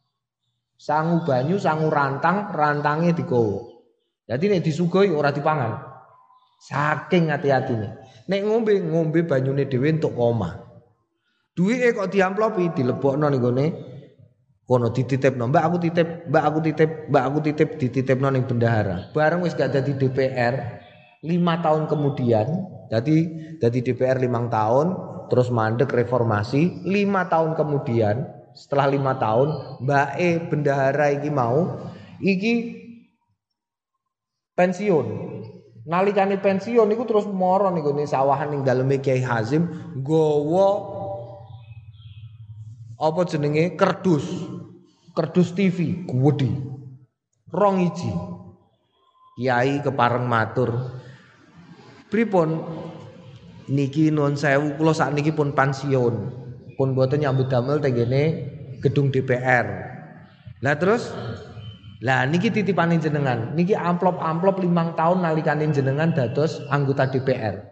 A: sangu rantange digowo. Jadi nek disuguhi ora dipangan. Saking ngati-atine. Nek ngombe banyune dhewe entuk omah. Duwike kok diamplopi dilebokno ning gone kono dititipno. Mbak aku titip dititipno ning bendahara. Bareng wis gak dadi DPR 5 tahun kemudian, dadi DPR 5 tahun, terus mandek reformasi. 5 tahun kemudian, setelah 5 tahun, mbake bendahara iki mau iki pensiun. Nalikane pensiun iku terus moro niku ning sawahan ning daleme Kiai Hazim nggawa apa jenenge kerdus TV gedhi. 2 iji. Kiai kepareng matur. Pripun niki nuwun sewu kula sakniki pun pensiun. Pun boten nyambut damel tenggene gedung DPR. Lah terus niki titipane jenengan. Niki amplop 5 tahun nalikane jenengan dados anggota DPR.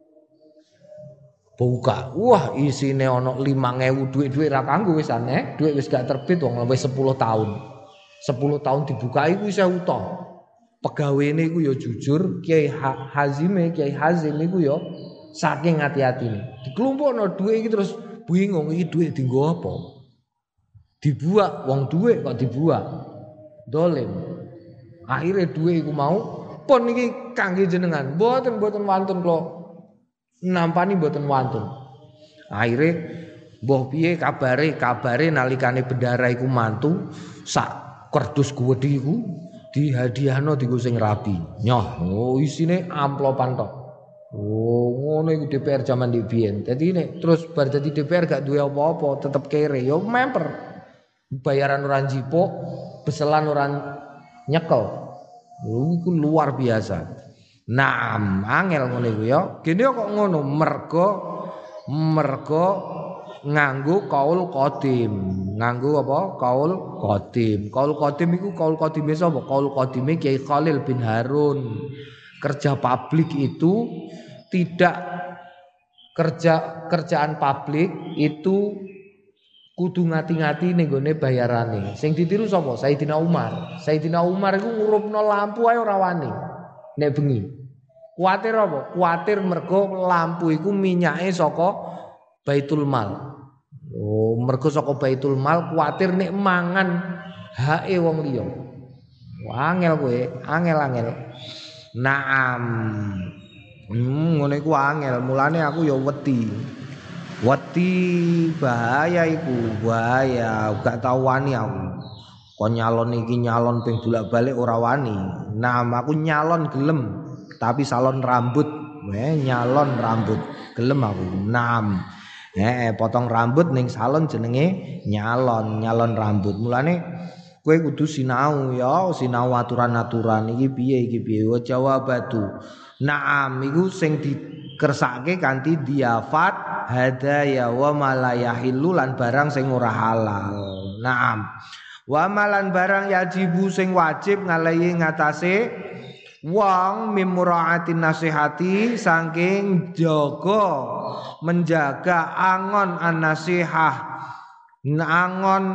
A: Buka. Wah, isine ana 5.000 duit ra kanggo wis aneh. Duit wis gak terbit wong wis 10 tahun. 10 tahun dibuka iku wis utuh. Pegawene iku ya jujur, Kiai Hazim iku ya saking hati-hatine. Dikelompokno duit iki terus bingung iki duit dienggo apa? Dibuak wong duit kok dibuak. Dolim. Akhirnya duit iku mau pun iki kangge jenengan. Mboten wantun kula. Nampani mboten wantun. Akhirnya mbah piye kabare nalikane bendara iku mantu sak kerdus gedhi iku dihadiahno dienggo sing rapi. Nyoh, oh isine amplopan tok. Oh, ngono iku DPR zaman biyen. Dadi nek terus bar dadi DPR gak duwe apa-apa, tetep kere. Ya memper. Bayaran ora njipuk, beselan ora nyekel. Iku luar biasa. Naam, angel ngono iku ya. Gene kok ngono mergo nganggo kaul qadim. Nganggo apa? Kaul qadim. Kaul qadim iku kaul qadime sapa? Kaul qadime Kiai Khalil bin Harun. Kerja publik itu tidak kerjaan publik itu kudu ngati-ngati ning gone bayarane. Sing ditiru sapa? Sayyidina Umar. Sayyidina Umar iku ngurupno lampu ae ora wani nek bengi. Kuwatir apa? Kuwatir mergo lampu iku minyake saka Baitul Mal. Oh, mergo saka Baitul Mal kuwatir nek mangan hake wong liya. Angel kowe, angel. Naam. Ngono iku angel. Mulane aku ya wedi. Wedi bahaya iku, bahaya. Gak tau wani aku. Kon nyalon iki nyalon ping bolak-balik ora wani. Nah, aku nyalon gelem, tapi salon rambut. Nyalon rambut gelem aku. Nam. Potong rambut ning salon jenenge nyalon rambut. Mulane kowe kudu sinau ya, sinau aturan-aturan iki piye. Wa jawabatu. Naam iku sing dikersake kanthi diafat hadaya wa malayahillu lan barang sing ora halal. Naam. Wa malan barang yajibu sing wajib ngalahi ngatasé wong mimuraatin nasihati saking menjaga angon an-nasihah. Angon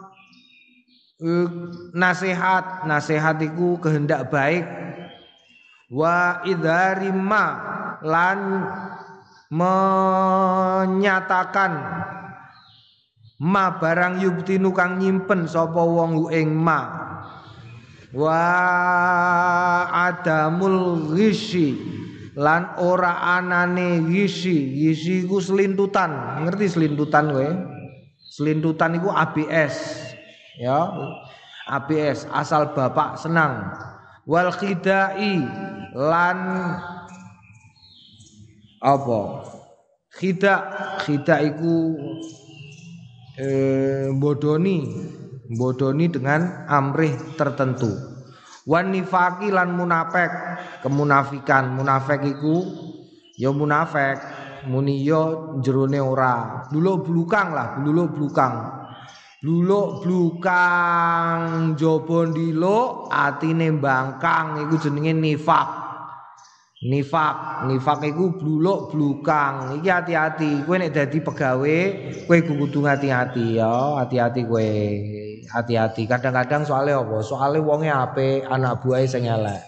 A: nasihat iku kehendak baik. Wa idharima lan menyatakan ma barang yubtinu kang nyimpen sapa wong ing ma wa adamul ghishi lan ora anane ghishi iku selintutan. Ngerti selintutan kowe? Selintutan iku ABS ya, ABS asal bapak senang. Wal khidai lan apa? Khida iku bodoni dengan amrih tertentu. Wan nifaqi lan munafik, kemunafikan. Munafik iku ya munafik, muni ya jerone ora. Bluluk-blukang jaba ndiluk atine mbangkang iku jenenge nifaq. Nifaq iku bluluk-blukang. Iki hati-hati. Kowe nek dadi pegawe, kowe kudu hati-hati ya. Hati-hati kowe. Hati-hati. Kadang-kadang soalnya apa? Soale wonge apik, anak buahe sing elek.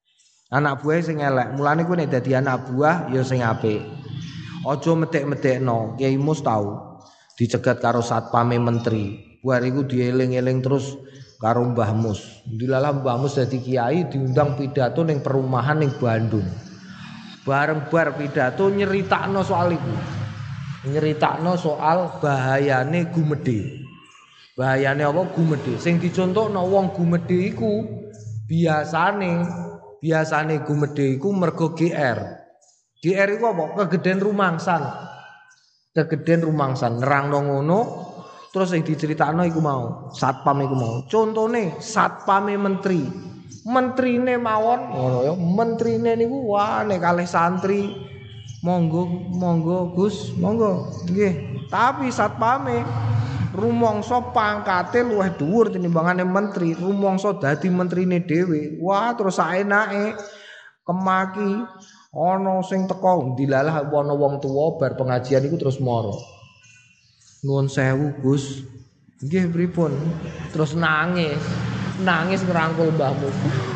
A: Mulane kowe nek dadi anak buah ya sing apik. Aja medek-medekno. Kiai Mus tau dicegat karo satpame menteri. Buar iku dieling-eling terus karo Mbah Mus. Dilalah Mbah Mus dadi kiai diundang pidato ning perumahan ning Bandung. Bareng bar pidato nyeritakno soal iku. Nyeritakno soal bahayane gumedhe. Bahayane apa gumedhe? Sing dicontohno wong gumedhe iku biasane gumedhe iku mergo GR. GR iku apa? Kegeden rumangsan. Kegeden rumangsan nerangno ngono terus sing diceritakno iku mau satpam iku mau. Contone satpame menteri. Menterine mawon ngono ya. Menterine niku wah nek kalih santri monggo Gus, monggo. Nggih. Tapi satpame rumangsa pangkate luwih dhuwur tinimbangane menteri, rumangsa dadi menterine dhewe. Wah, terus saenake kemaki ana sing teko dilalah ana wong tuwa bar pengajian iku terus mara. Nuwun sewu, Gus. Nggih pripun? Terus nangis ngrangkul mbahmu.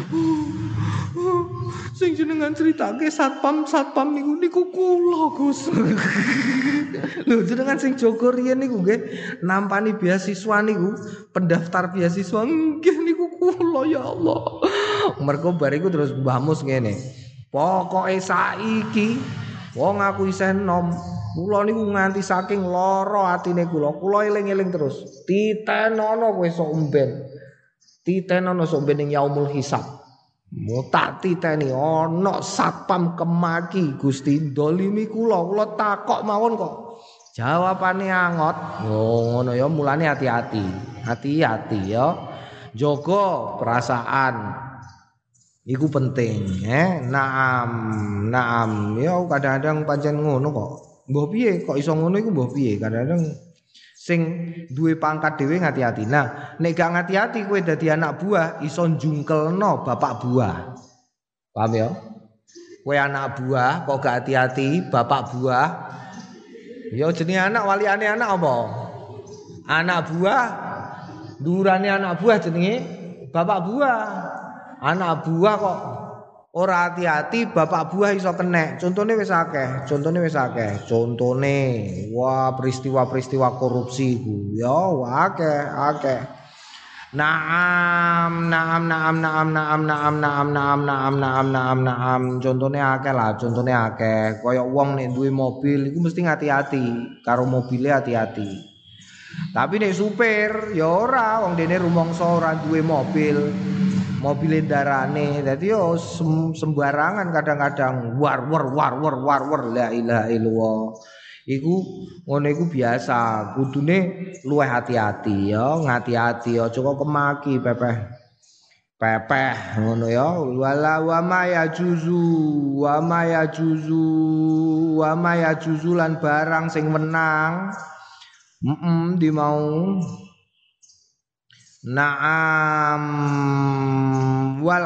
A: Sing jenengan critake satpam niku kula Gus. Lho jenengan sing jaga riyen niku nggih nampani beasiswa niku, pendaftar beasiswa nggih niku kula ya Allah. Mergo bariku terus mbahmu ngene. Pokoke saiki wong aku isih enom. Kula niku nganti saking lara atine kula eling-eling terus. Titenono kowe sok umben. Titenono sok ben ning yaumul hisab. Tak titeni ana satpam kemaki Gusti ndolimi kula takok mawon kok jawabane angot. Oh ngono ya mulane hati-hati ya jaga perasaan iku penting naam ya kadang-kadang pancen ngono kok mbah piye kok iso ngono iku mbah piye kadang-kadang sing duwe pangkat dhewe ngati-ati. Nah, nek gak ngati-ati kowe dadi anak buah iso njungkelno bapak buah. Paham ya? Kowe anak buah kok gak hati-hati bapak buah. Ya jenenge anak waliane anak apa? Anak buah. Durane anak buah jenenge bapak buah. Anak buah kok ora hati-hati bapak buah iso kenek. Contone wis akeh. Contone wah peristiwa-peristiwa korupsi iku ya akeh. Naam. Contone akeh. Kaya wong nek duwe mobil iku mesti hati-hati karo mobile hati-hati. Tapi nek supir ya ora wong dene rumangsa ora duwe mobil darane dadi yo sembarangan kadang-kadang war la ilaha illallah iku ngono iku biasa kudune luwih hati-hati ya ngati-ati aja kok kemaki pepeh ngono ya wala wa ma yajuzu lan barang sing menang di mau Naam wal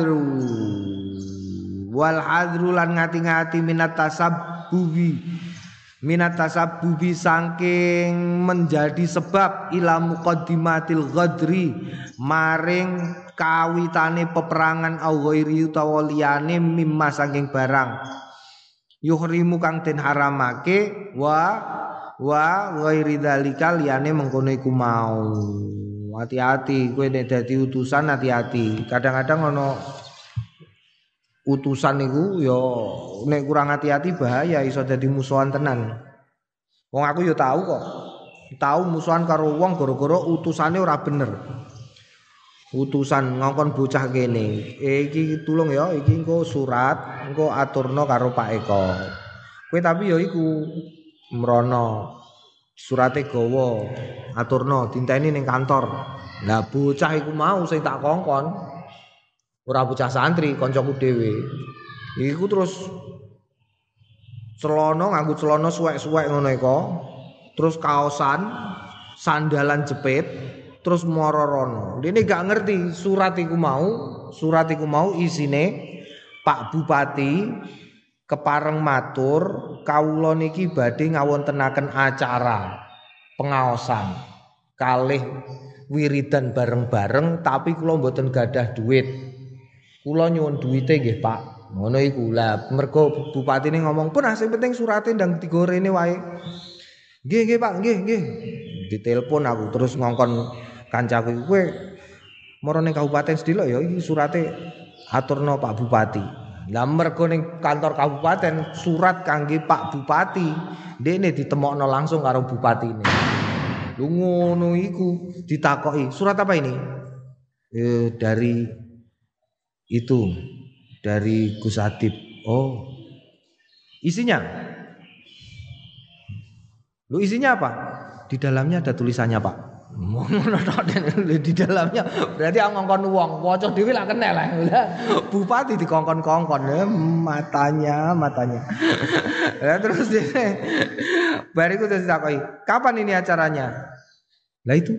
A: hadru lan ngati-ngati minat tasabbubi saking menjadi sebab ila muqaddimatil ghadri maring kawitane peperangan au ghairi utawa liyane mimma saking barang yuhrimu kang den haramake wa ghairi dzalika liyane mengkono iku mau. Hati-hati kowe nek dadi utusan hati-hati. Kadang-kadang ana utusan niku ya nek kurang hati-hati bahaya iso dadi musuhan tenan. Wong aku ya tahu kok. Tahu musuhan karo wong gara-gara utusane ora bener. Utusan ngongkon bocah kene. Iki tulung ya, iki engko surat, engko aturno karo Pak Eko. Kowe tapi ya iku mrono surate gawa aturno dinteni ning kantor. Lah bocah iku mau sing tak kongkon ora bocah santri kancaku dhewe. Iku terus nganggo celana suwek-suwek ngono iku. Terus kaosan, sandalan jepit, terus mara rono. Dene gak ngerti surat iku mau isine Pak Bupati kepareng matur kawula niki badhe ngawontenaken acara pengaosan kalih wiridan bareng-bareng tapi kula mboten gadah duit. Kula nyuwun duwite nggih Pak. Ngono iku. Lah mergo bupatine ngomong, "Pun sing penting surate ndang digorene wae." Nggih Pak, nggih. Ditelepon aku terus ngongkon kancaku kowe mara ning kabupaten sedilok ya iki surate aturno Pak Bupati. Lah mergo ning kantor kabupaten surat kangge Pak Bupati, ndekne ditemokno langsung karo bupatine. Lho ngono iku ditakoki, surat apa ini? Dari itu, dari Gus Adib. Oh. Isinya? Lu isinya apa? Di dalamnya ada tulisannya, Pak. Di dalamnya berarti ngongkon wong, waca dhewe lak kenel lah. Bupati dikongkon-kongkon matanya. Lah terus dene bariku terus takoki, "Kapan ini acaranya?" Lah itu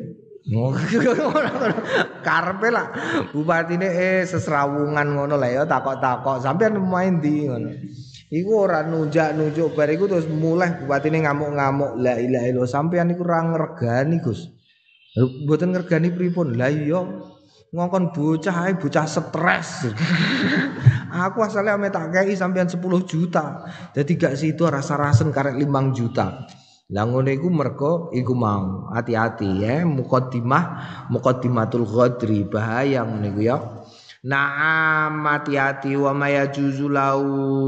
A: karepe lah bupatine sesrawungan ngono lah ya takok-takok sampean main ndi ngono. Iku ora nunjuk bariku terus mulai bupatine ngamuk-ngamuk, la ilaha illallah sampean iku ora ngregani Gus. Mboten ngergani pripun? Lah iya ngongkon bocah stres. Aku asale ame tak kei sampean 10 juta. Dadi gak sido rasa-rasen karek 5 juta. Lah ngono iku mergo iku mau hati-hati ya muqaddimatul ghadri bahaya ngene iku ya. Naam hati-hati wa mayajuzu lau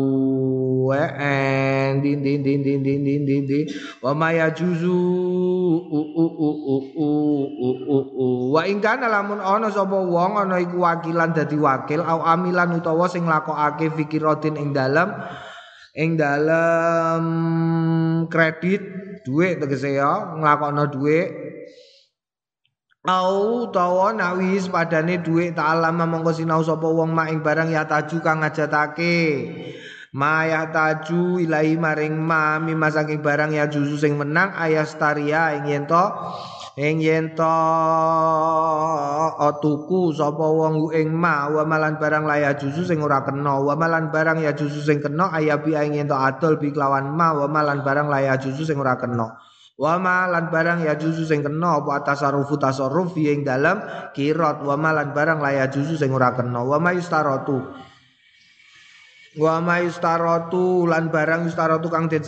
A: din wa mayajuzu wa ingkana lamun ana sapa wong ana iku wakilan dadi wakil au amilan utawa sing lakokake fikiratin ing dalem kredit duit tegese ya nglakokno duit au utawa nawis padane dhuwit ta'alama mongko sinau sapa wong mak ing barang ya taju kang ngajatake ma ya taju ilahi maring ma mimma saking barang ya juzu sing menang ayastaria ing yen to tuku sapa wong ing ma wa malan barang laya juzu sing ora kena wa malan barang ya juzu sing kena ayabi ing yen to adol bi kelawan ma wa malan barang laya juzu sing ora kena wa malan barang ya juzu sing kena apa tasarruf ing dalam kirat wa malan barang laya juzu sing ora kena wa mayustaratu lan barang yustaratu kang den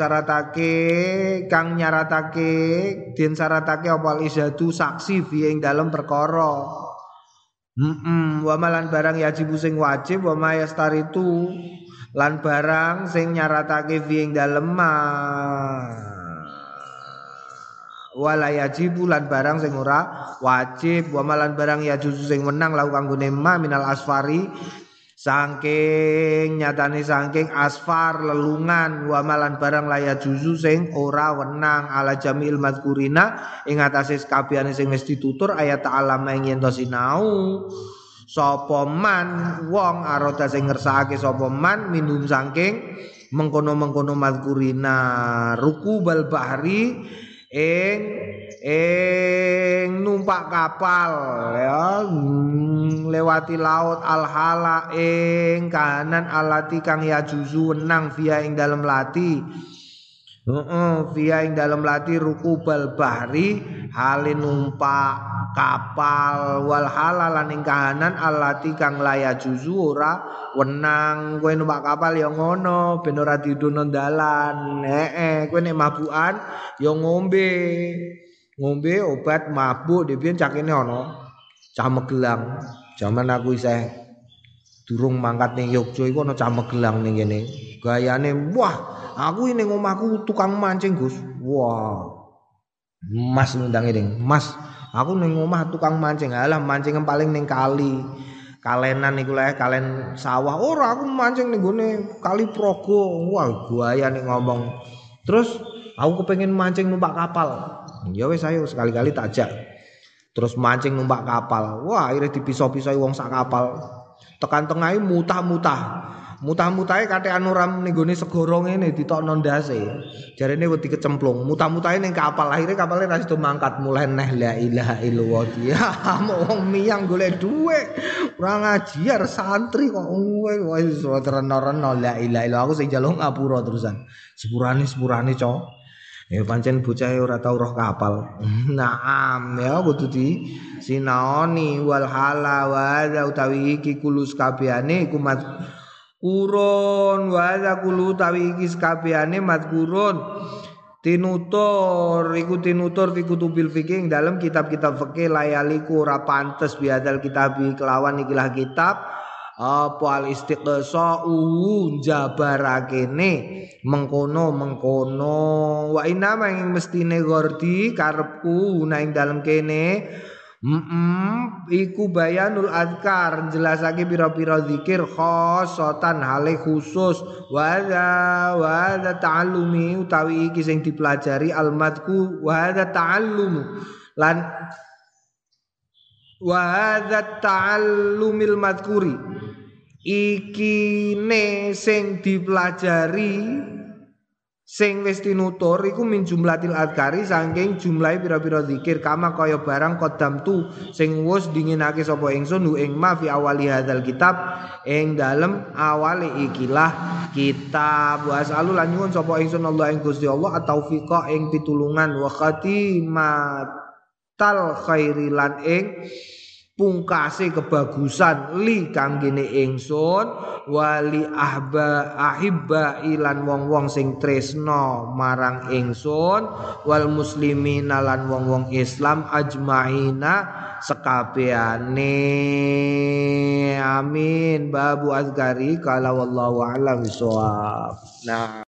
A: syaratake apa isatu saksi ing dalam perkara wa malan barang yajibu sing wajib wa mayastaritu lan barang sing nyaratake ing dalem wala yajibu lan barang sing ora wajib wa malan barang ya juzu sing menang lau kanggone ma minal asfari saking asfar lelungan wa malan barang laya juzu sing ora wenang ala jamil mazkurina ing atase kabehane sing wis ditutur ayat ta'alama ing yen to sinau sapa man wong arada sing ngersakake sapa man minum saking mengkono-mengkono mazkurina rukubal bahri ing numpak kapal ya lewati laut alhala ing kahanan alati kang ya juzu wenang via ing dalem lati via ing dalem lati rukubal bahri halin numpak kapal wal halalan ing kahanan alati kang laya juzu ora wenang kowe numpak kapal ya ngono ben ora didono dalan kowe nek mabukan ya ngombe obat mabuk dhewe cakene ana cah Magelang jaman aku isih durung mangkat ning Yogya iku ana cah Magelang ning kene gayane wah aku ning omahku tukang mancing Gus wah Mas ngundang ning Mas aku ning omah tukang mancing alah mancing paling ning kali kalenan iku lek kalen sawah ora aku mancing ning gone kali Progo wah gaya nek ngomong terus aku kepengin mancing numpak kapal ya wis ayo sekali-kali tak ajak terus mancing numpak kapal wah akhirnya dipisah-pisahi wong sak kapal tekan tengahe mutah-mutahe kathekan ora ning gone segara ngene ditokno ndase jarene wedi kecemplung mutah-mutahe ning kapal akhirnya kapale ra sido mangkat mulai neh la ilaha illallah dia wong miyang golek dhuwit ora ngajiar santri kok wis tereno-reno la ilaha illallah aku sing njaluk ngapura terusan sepurane cok pancen bocah ora tau roh kapal naam ya kudu di sinaoni wal hala wa utawi iki kulus kabehane iku kurun wa kulu tawi iki kabehane madkurun tinutur fi kutubil fikih dalam kitab-kitab fikih layaliku ora pantes biadal kitab kelawan ikilah kitab apa al istiqsa'u jabarakene mengkono wa inna ing mestine gordi karepku ing dalem kene iku bayanul azkar jelasake pira-pira zikir khosotan hale khusus wa ta'allumi utawi iki sing dipelajari almadku wa ta'allumu lan wa ta'allumil madkuri iki ne sing dipelajari sing wis tinutur iku min jumlatil adkari saking jumlahe pira-pira zikir kama kaya barang kodam tu sing wis dinginake sapa ingsun ing ma fi awali hadzal kitab ing dalem awale ikilah kitab wasalu lan nyuwun sapa ingsun Allah ing Gusti Allah at-taufiqa ing pitulungan wa khatimatal khairi lan ing pungkase kebagusan li kanggene ingsun wali ahibba ilan wong-wong sing tresno marang ingsun wal muslimina lan wong-wong Islam ajmaina sekabehane amin babu azgari kala wallahu a'lam bissawab. Nah